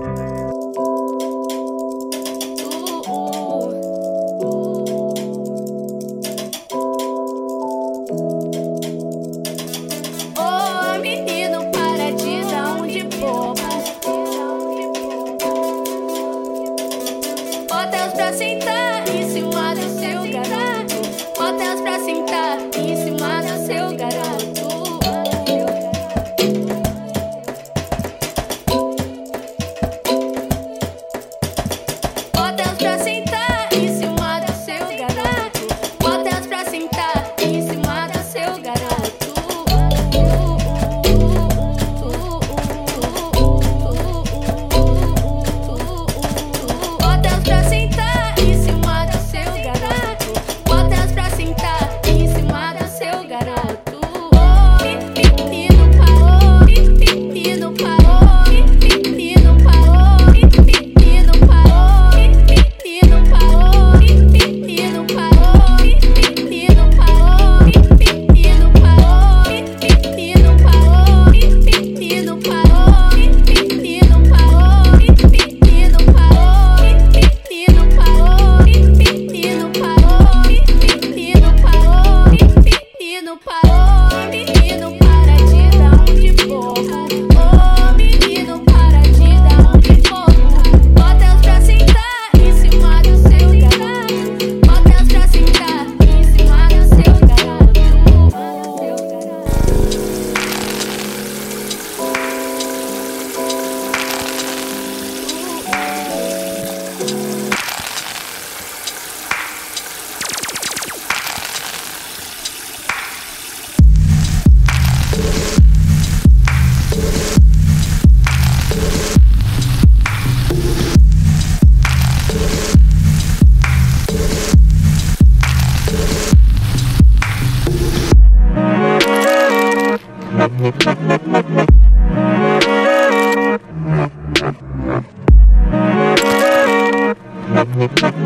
We'll be right back.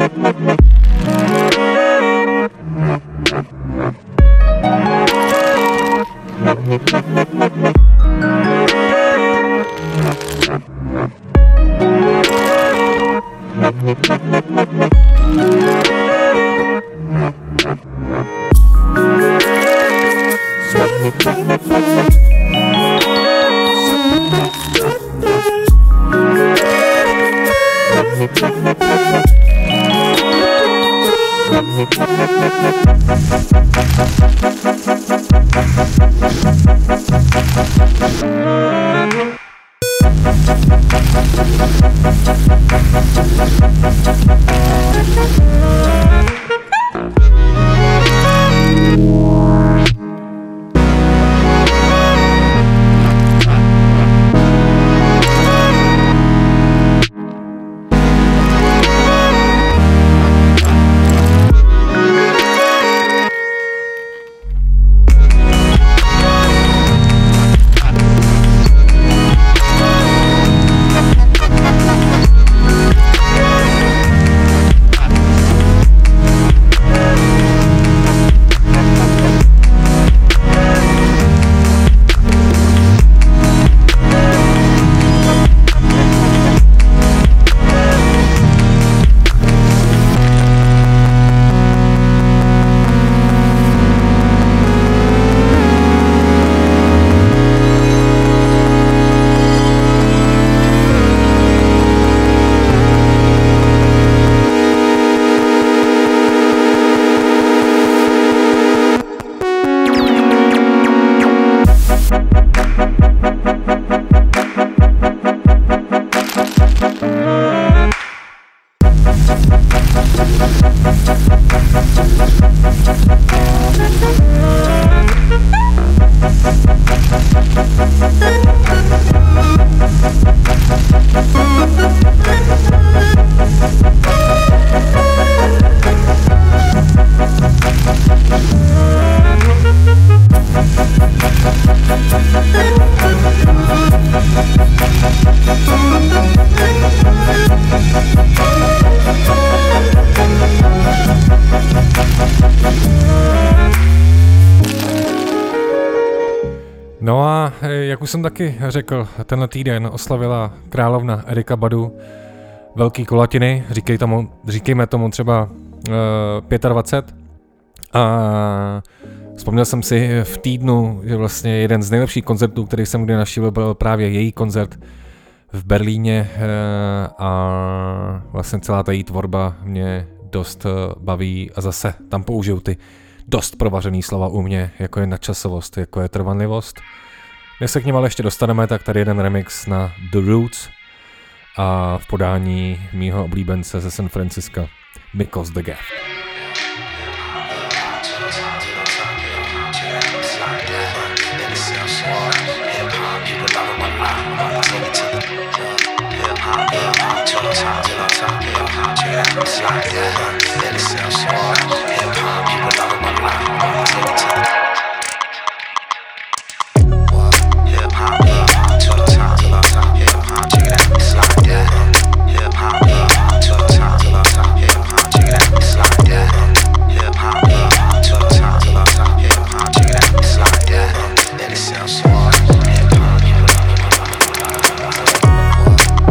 No a jak už jsem taky řekl, tenhle týden oslavila královna Erykah Badu velký kulatiny, říkej tomu, říkejme tomu třeba uh, dvacet pět. A vzpomněl jsem si v týdnu, že vlastně jeden z nejlepších koncertů, který jsem kdy navštívil, byl právě její koncert v Berlíně uh, a vlastně celá ta její tvorba mě dost uh, baví a zase tam použiju ty dost provařený slova u mě, jako je nadčasovost, jako je trvanlivost. Než se k něm ale ještě dostaneme, tak tady jeden remix na The Roots a v podání mýho oblíbence ze San Francisca, Miko's The Gift.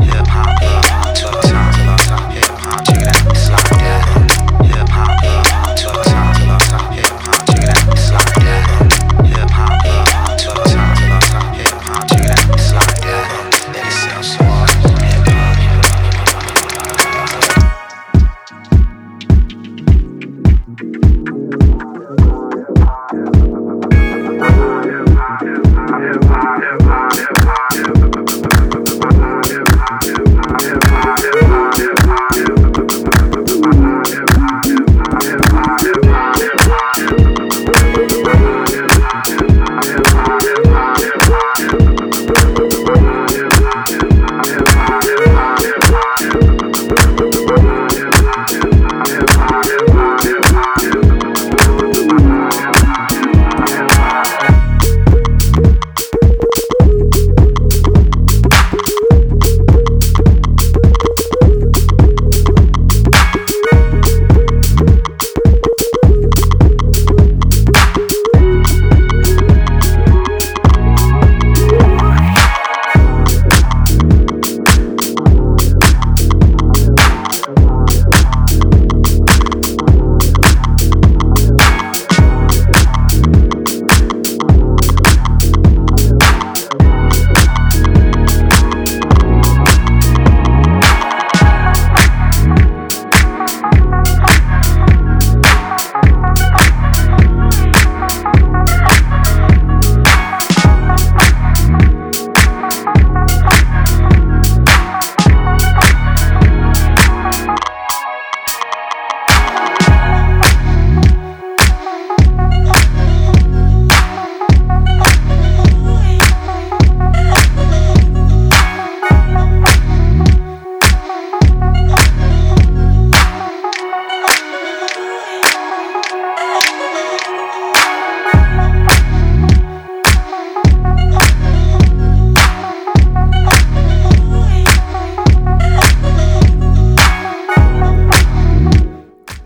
Hip hop,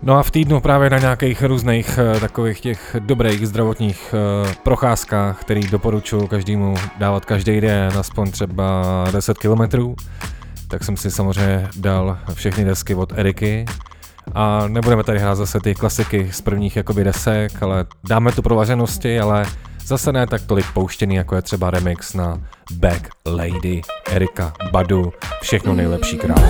No a v týdnu právě na nějakých různých uh, takových těch dobrých zdravotních uh, procházkách, který doporučuji každému dávat každý den, aspoň třeba deset kilometrů, tak jsem si samozřejmě dal všechny desky od Eriky. A nebudeme tady hrát zase ty klasiky z prvních jakoby desek, ale dáme tu provařenosti, ale zase ne tak tolik pouštěný, jako je třeba remix na Back Lady, Erika Badu, všechno nejlepší král.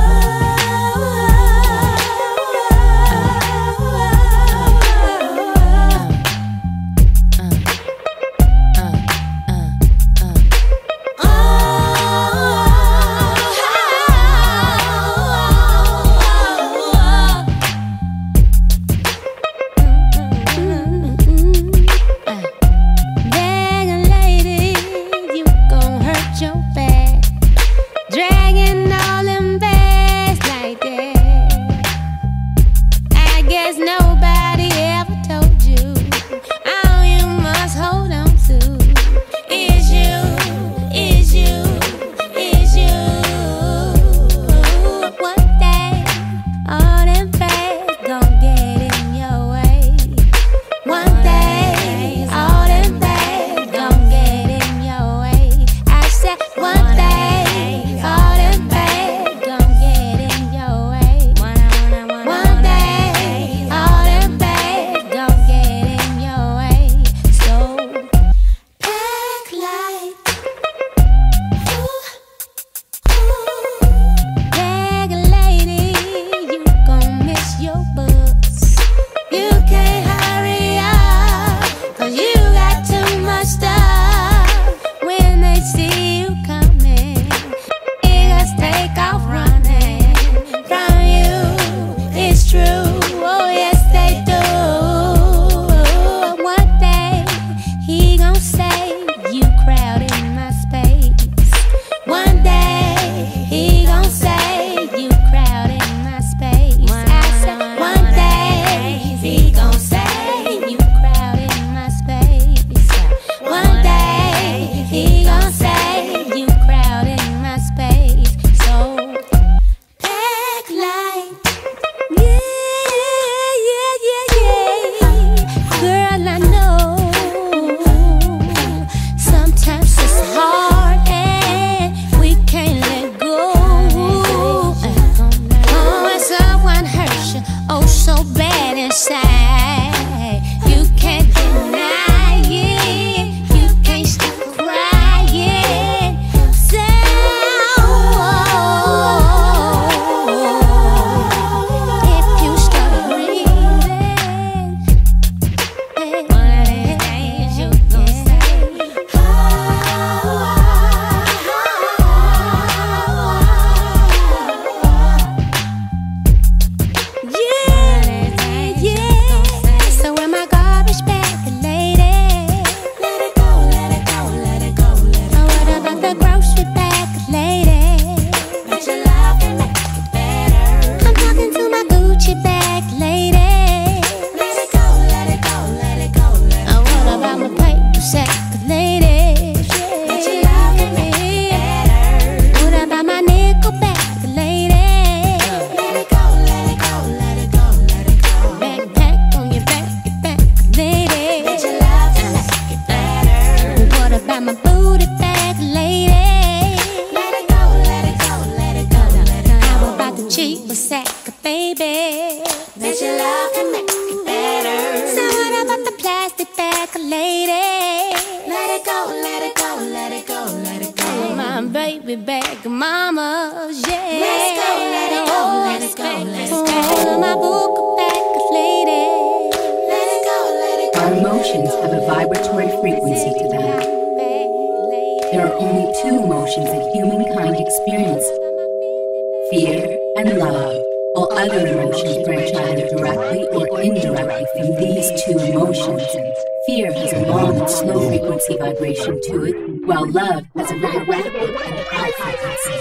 While love has a very rapid and high frequency.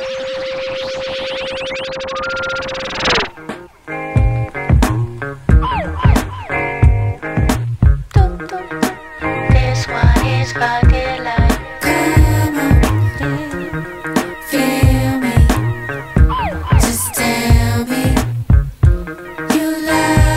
This one is called Daylight. Come on, feel me. Just tell me you love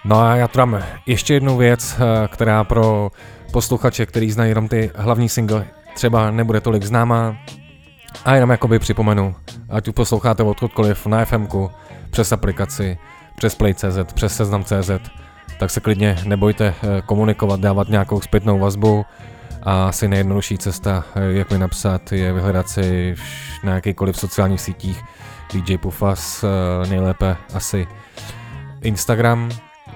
No a já tu dám ještě jednu věc, která pro posluchače, který znají jenom ty hlavní single, třeba nebude tolik známá. A jenom jakoby připomenu, ať tu posloucháte odkudkoliv na FMku, přes aplikaci, přes Play tečka cé zet, přes Seznam tečka cé zet, tak se klidně nebojte komunikovat, dávat nějakou zpětnou vazbu. A asi nejjednodušší cesta, jak mi napsat, je vyhledat si na jakýkoliv sociálních sítích D J Pufas, nejlépe asi Instagram.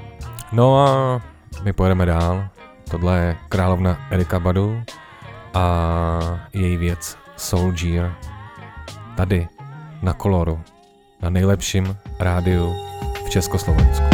No a my pojedeme dál. Tohle je královna Erykah Badu a její věc Soldier. Tady na Koloru, na nejlepším rádiu v Československu.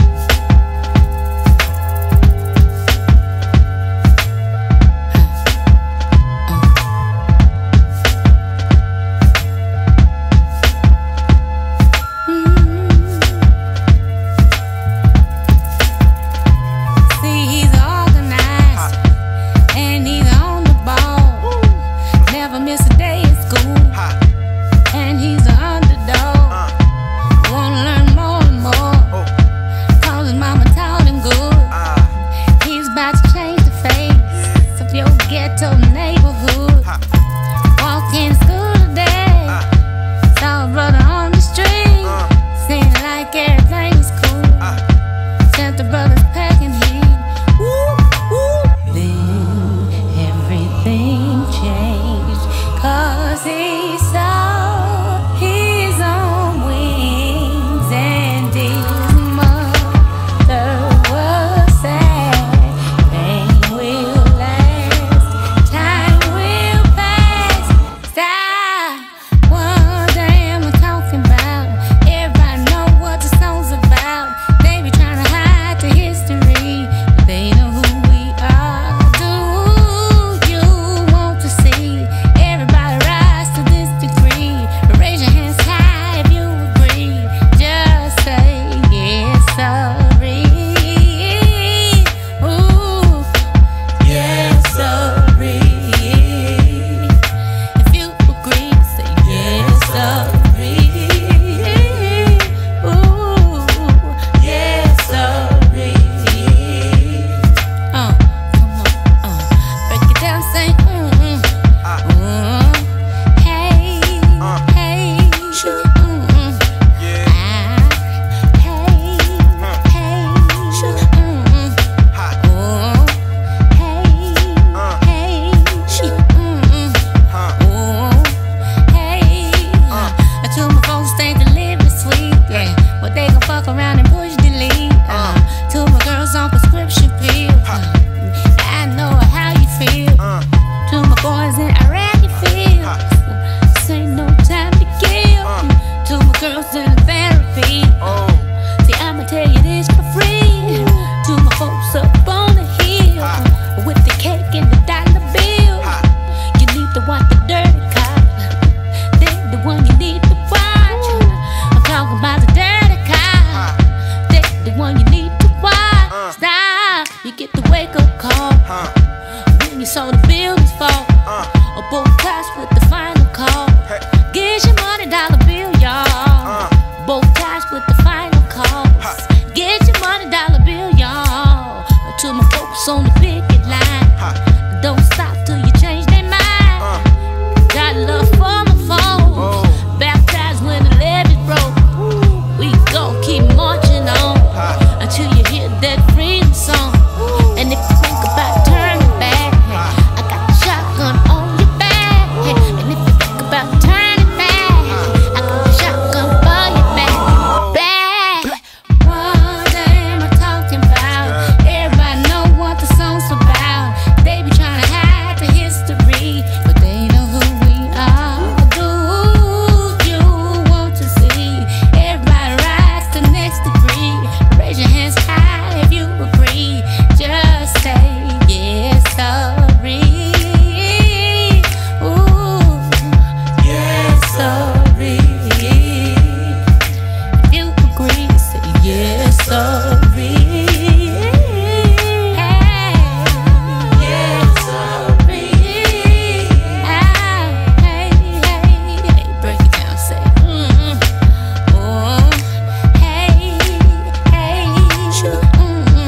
Mm-hmm.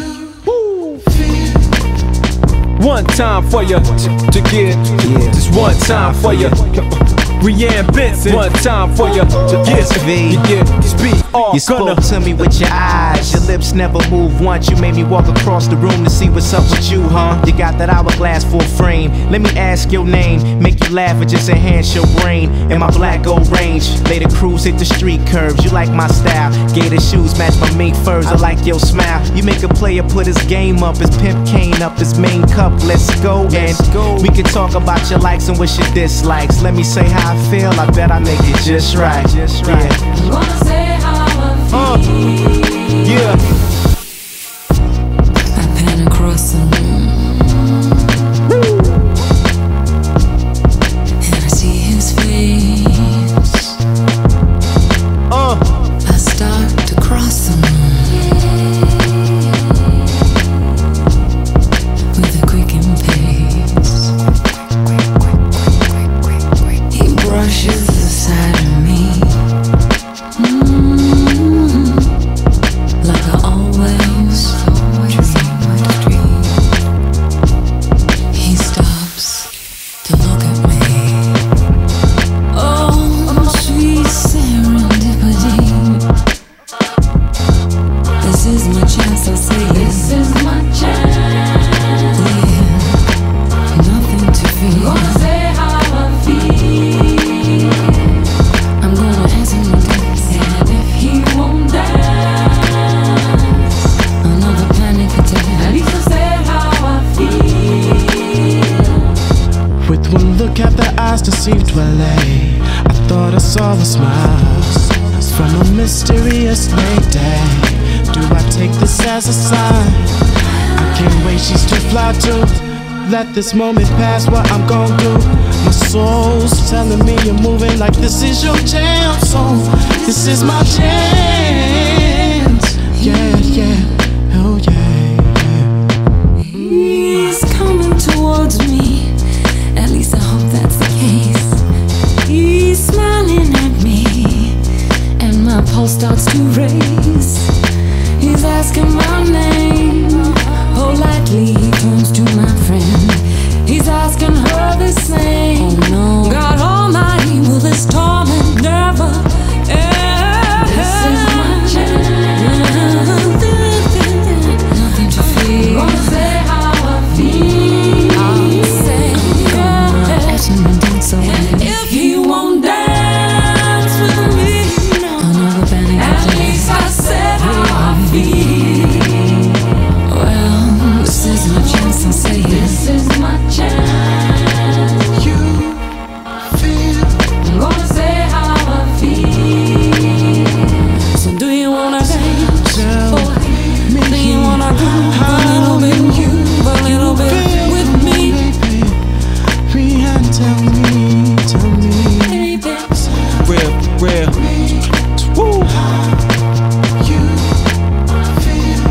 One time for you to, to get, just one time for you. Rianne Benson, one time for you to get, yeah, speak all. You spoke to me with your eyes, your lips never move once. You made me walk across the room to see what's up with you, huh? You got that hourglass full frame. Let me ask your name, make you laugh or just enhance your brain. In my black gold range, later cruise hit the street curves. You like my style, gator shoes match my mink furs. I like your smile. You make a player put his game up, his pimp cane up, his main cup. Let's go and we can talk about your likes and what your dislikes. Let me say how I feel, I bet I make it just right. Just right. Yeah. You wanna say how I feel? Uh, yeah. I pan across the room, and I see his face. Uh. I start to cross the room with a quickened pace. He brushes the side of me. Mm-hmm. Like I always dream. He stops to look at me. Oh, sweet serendipity. This is my chance, I say. This is my chance. Yeah, nothing to fear. Gonna say how I feel. I'm gonna ask him to dance, and if he won't dance, another panic attack. At least I said how I feel. With one look at the eyes that seemed to allay, I thought I saw the smiles from a mysterious lady. Do I take this as a sign? I can't wait, she's too fly to let this moment pass. What I'm gon' do? My soul's telling me you're moving like this is your jam. So this is my chance. Yeah, yeah, oh yeah, yeah. He's coming towards me. At least I hope that's the case. He's smiling at me, and my pulse starts to race. He's asking my name. Politely he turns to my friend. He's asking her the same. Oh no, God Almighty, will this torment never end? This is my chance. Nothing to fear. Gonna say how I feel. I'll say yeah. Ask him to dance so and if he won't dance with me, no. Another panic attack. At least I said how I feel. Well, this is my chance, I'll say it. This is my chance. You feel. I'm gonna say how I feel. So do you wanna dance? Boy, do you wanna groove a little bit? You a little bit with me? Rianne, tell me, tell me. Baby. Real, real. Woo. You feel.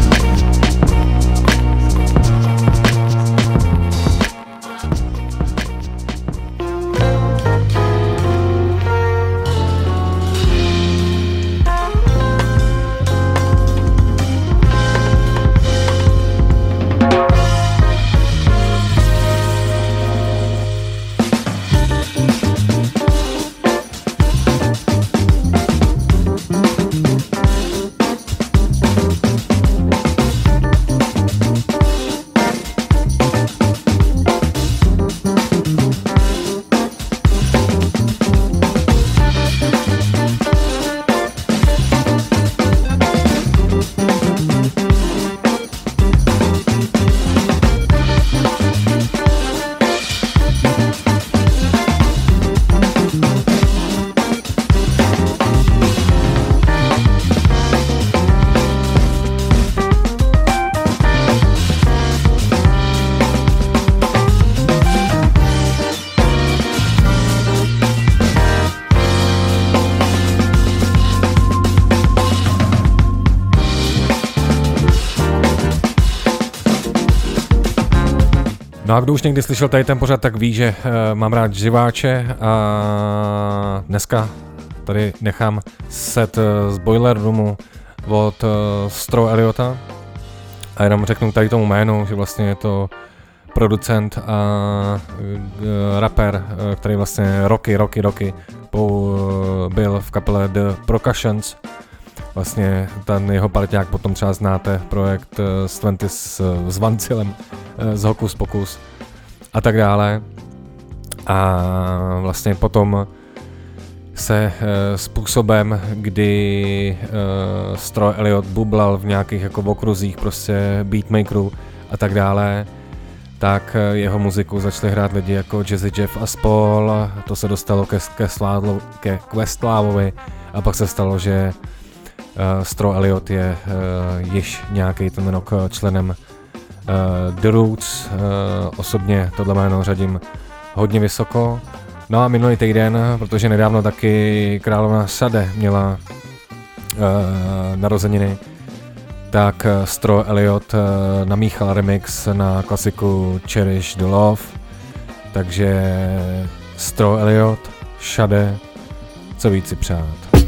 No a kdo už někdy slyšel tady ten pořad, tak ví, že uh, mám rád živáče a dneska tady nechám set uh, z Boiler Roomu od uh, Stro Eliota. A jenom řeknu tady tomu jménu, že vlastně je to producent a rapper, který vlastně roky, roky, roky byl v kapele The Percussions. Vlastně ten jeho parťák potom třeba znáte, projekt s Twenty s, s Vancilem, z Hokus Pokus a tak dále. A vlastně potom se e, způsobem, kdy e, Stroj Elliot bublal v nějakých jako okruzích prostě beatmakerů a tak dále, tak jeho muziku začali hrát lidi jako Jazzy Jeff a spol, to se dostalo ke, ke, Sládlo, ke Questlávovi a pak se stalo, že uh, Stroj Elliot je uh, již nějaký ten rok členem uh, The Roots, uh, osobně tohle jméno řadím hodně vysoko. No a minulý týden, protože nedávno taky královna Sade měla uh, narozeniny, tak Stroj Elliot uh, namíchal remix na klasiku Cherish the Love, takže Stroj Elliot, Sade, co víc si přát.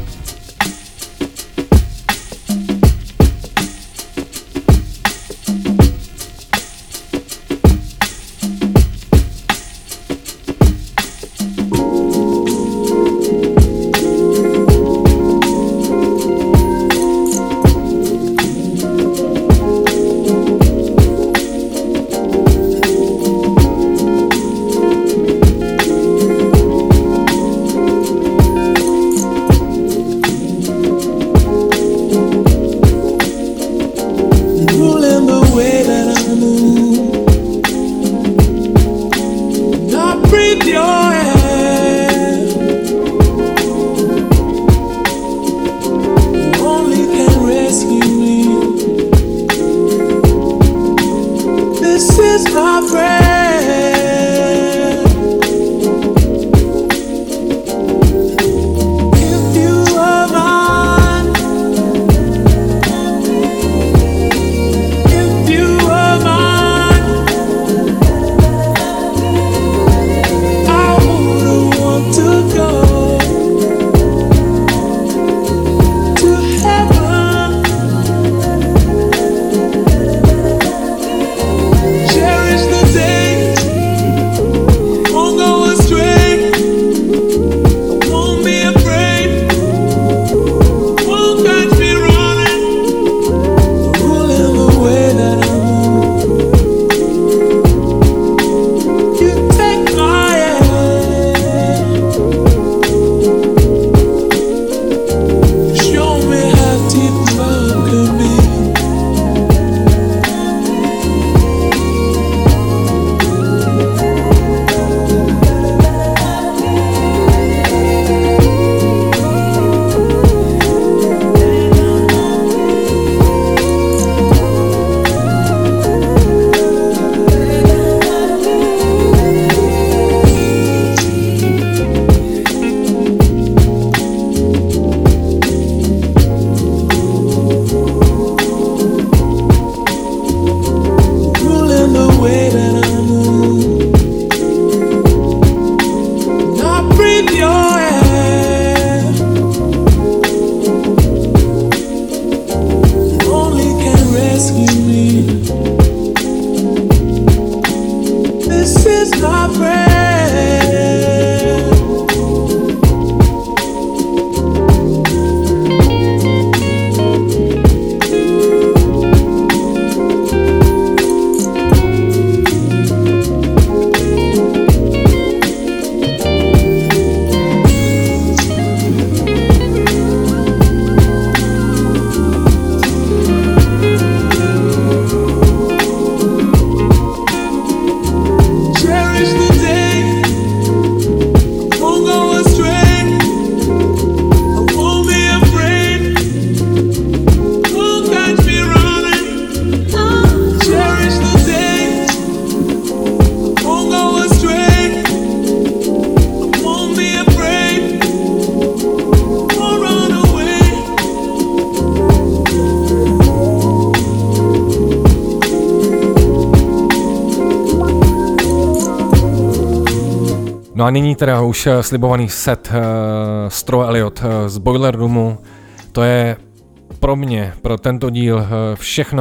No a nyní teda už slibovaný set uh, Stroj Elliot uh, z Boiler Roomu. To je pro mě, pro tento díl uh, všechno,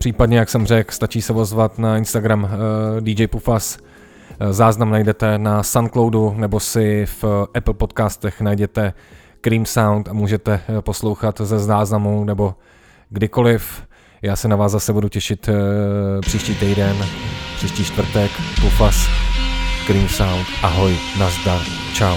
Případně, jak jsem řekl, stačí se ozvat na Instagram uh, D J Pufas. Uh, záznam najdete na Soundcloudu nebo si v Apple podcastech najděte Cream Sound a můžete uh, poslouchat ze záznamu nebo kdykoliv. Já se na vás zase budu těšit uh, příští týden, příští čtvrtek. Pufas, Cream Sound, ahoj, nazdar, čau.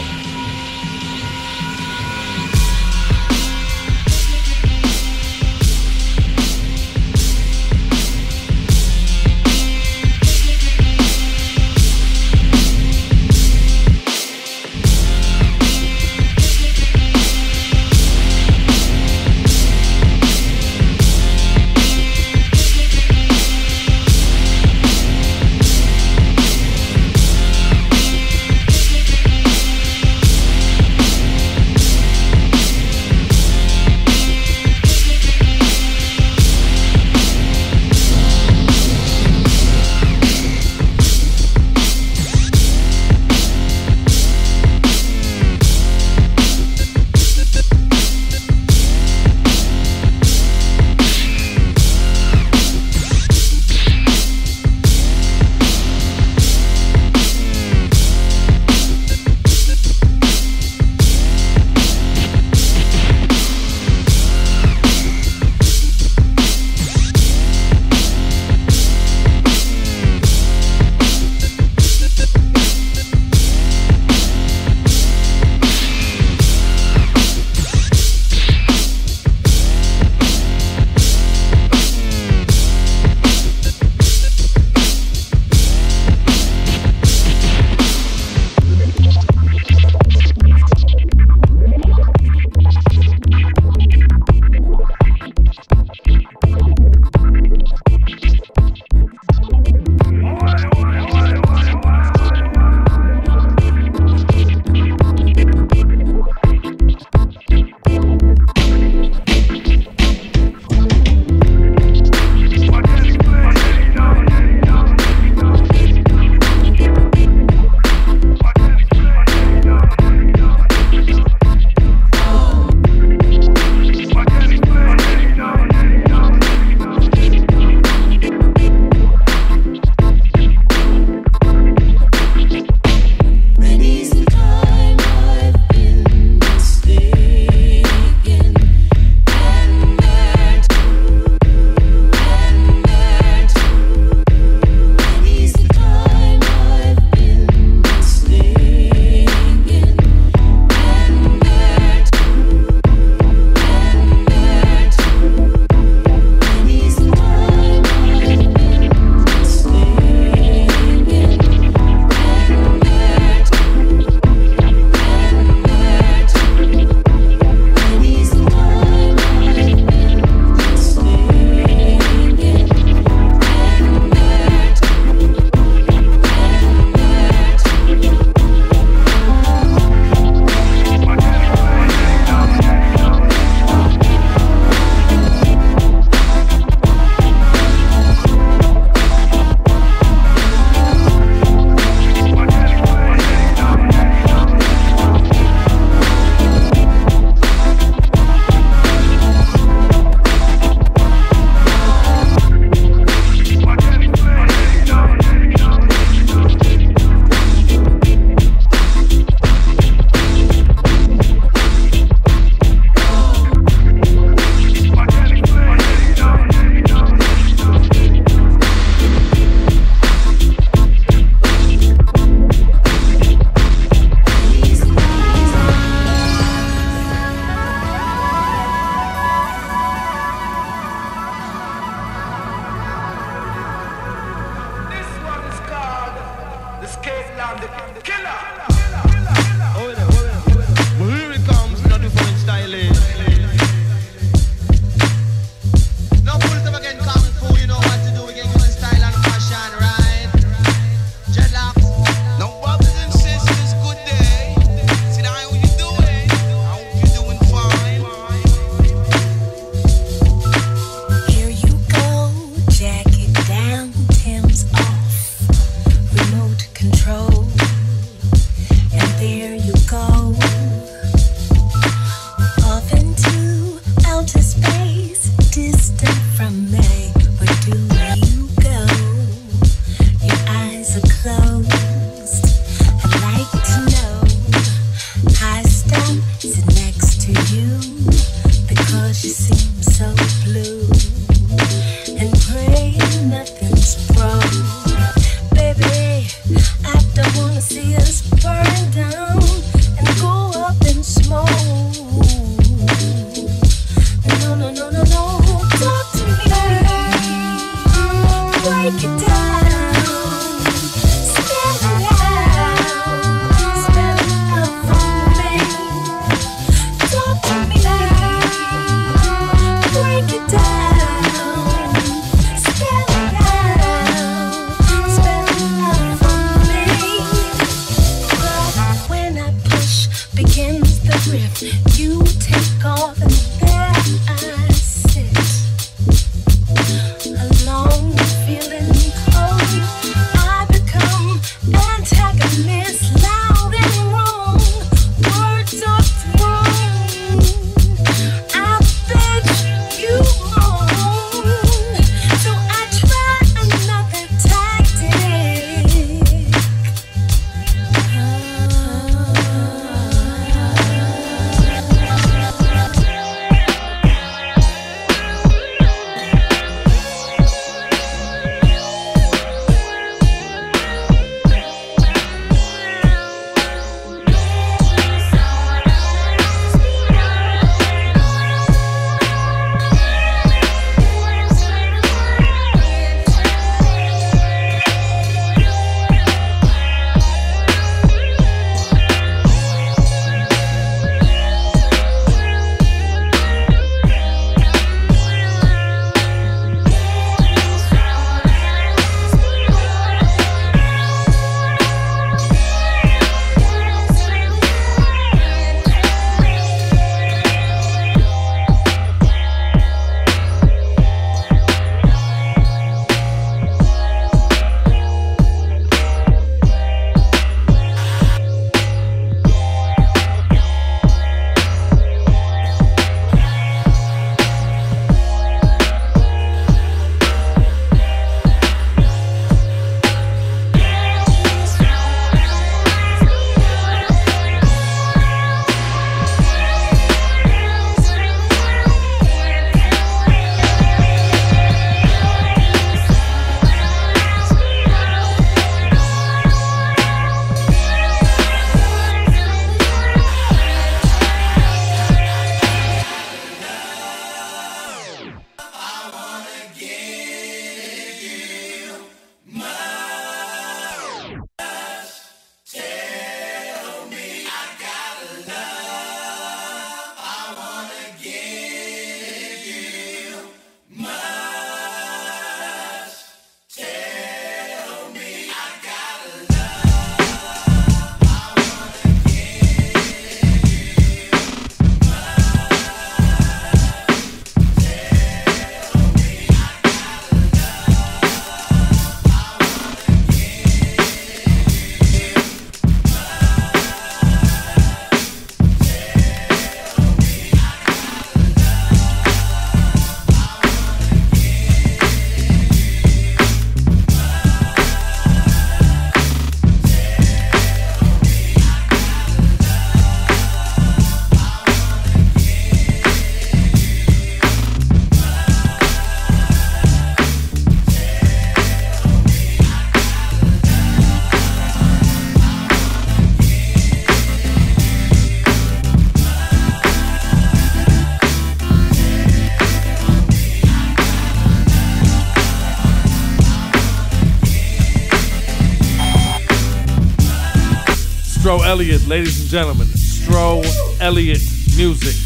Stro Elliott, ladies and gentlemen. Stro Elliott music.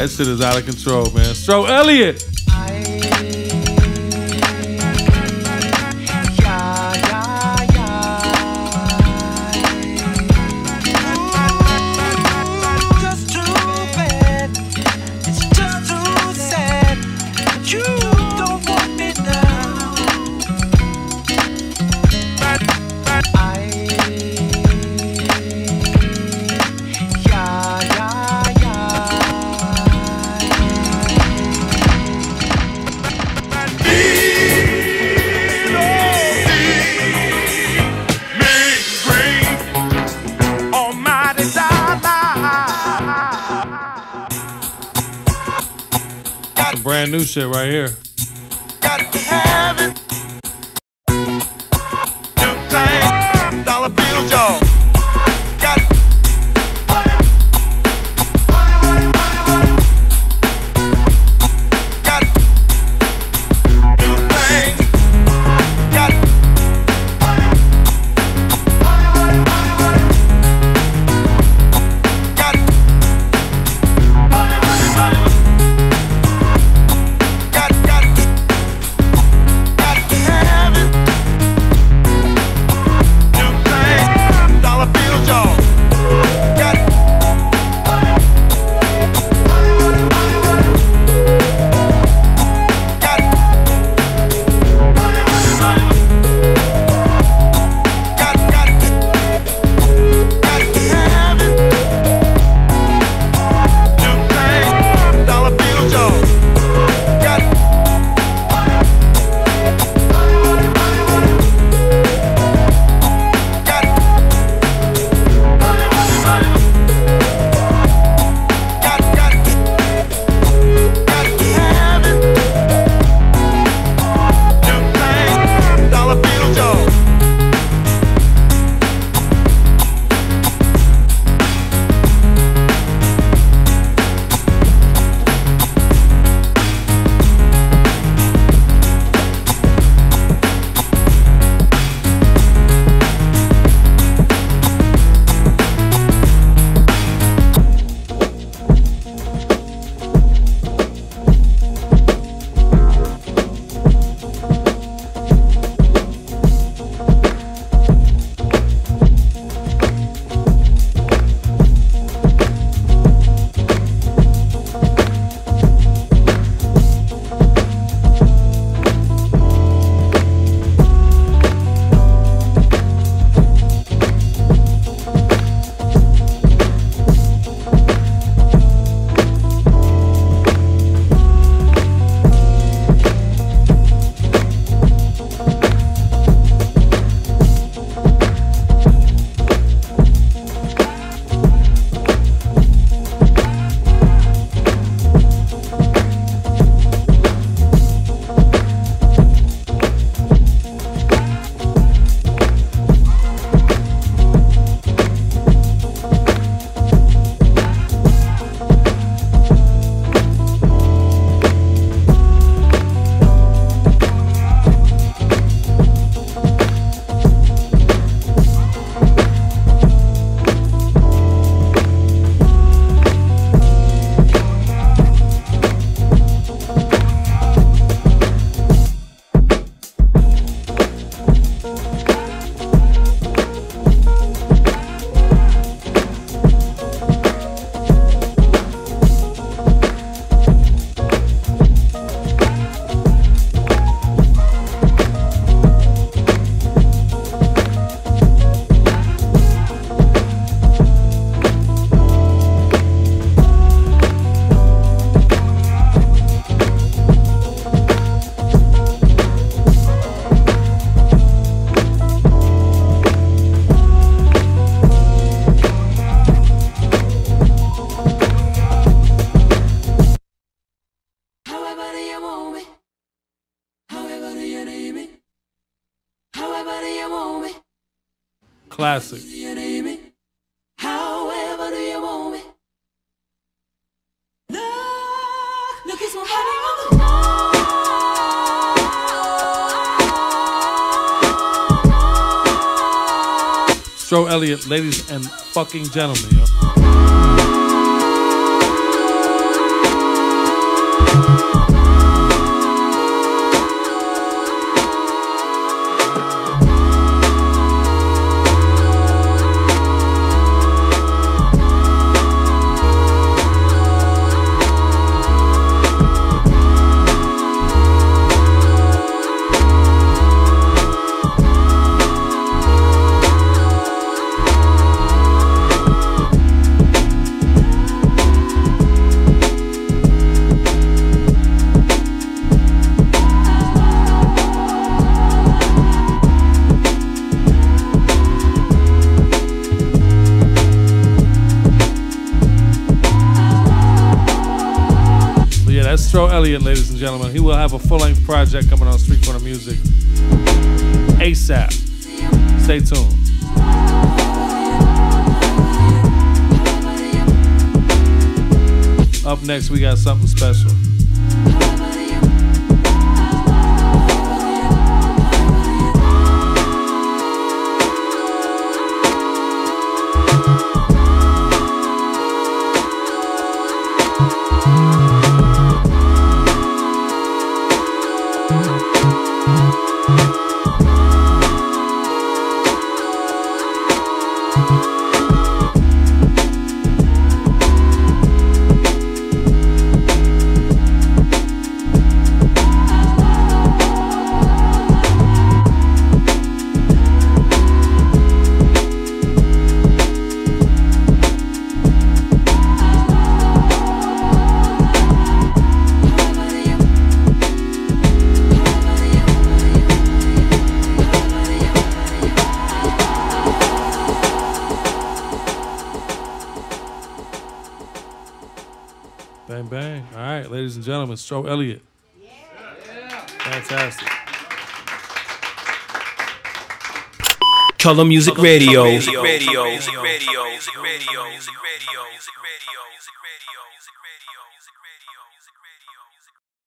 That shit is out of control, man. Stro Elliott. Brand new shit right here. Got to have it. New thing, dollar bills, y'all. Got it. Got it. New thing. Got it. Got it. Classic. However do you want me? No, look, it's my body on the Stro Elliott, ladies and fucking gentlemen, yo. Elliott, ladies and gentlemen. He will have a full-length project coming on Street Corner Music ASAP. Stay tuned. Up next, we got something special. Bang, bang. All right, ladies and gentlemen, Stro Elliott. Yeah. Fantastic. Color Music Radio. Radio. Radio. Radio. Radio. Radio.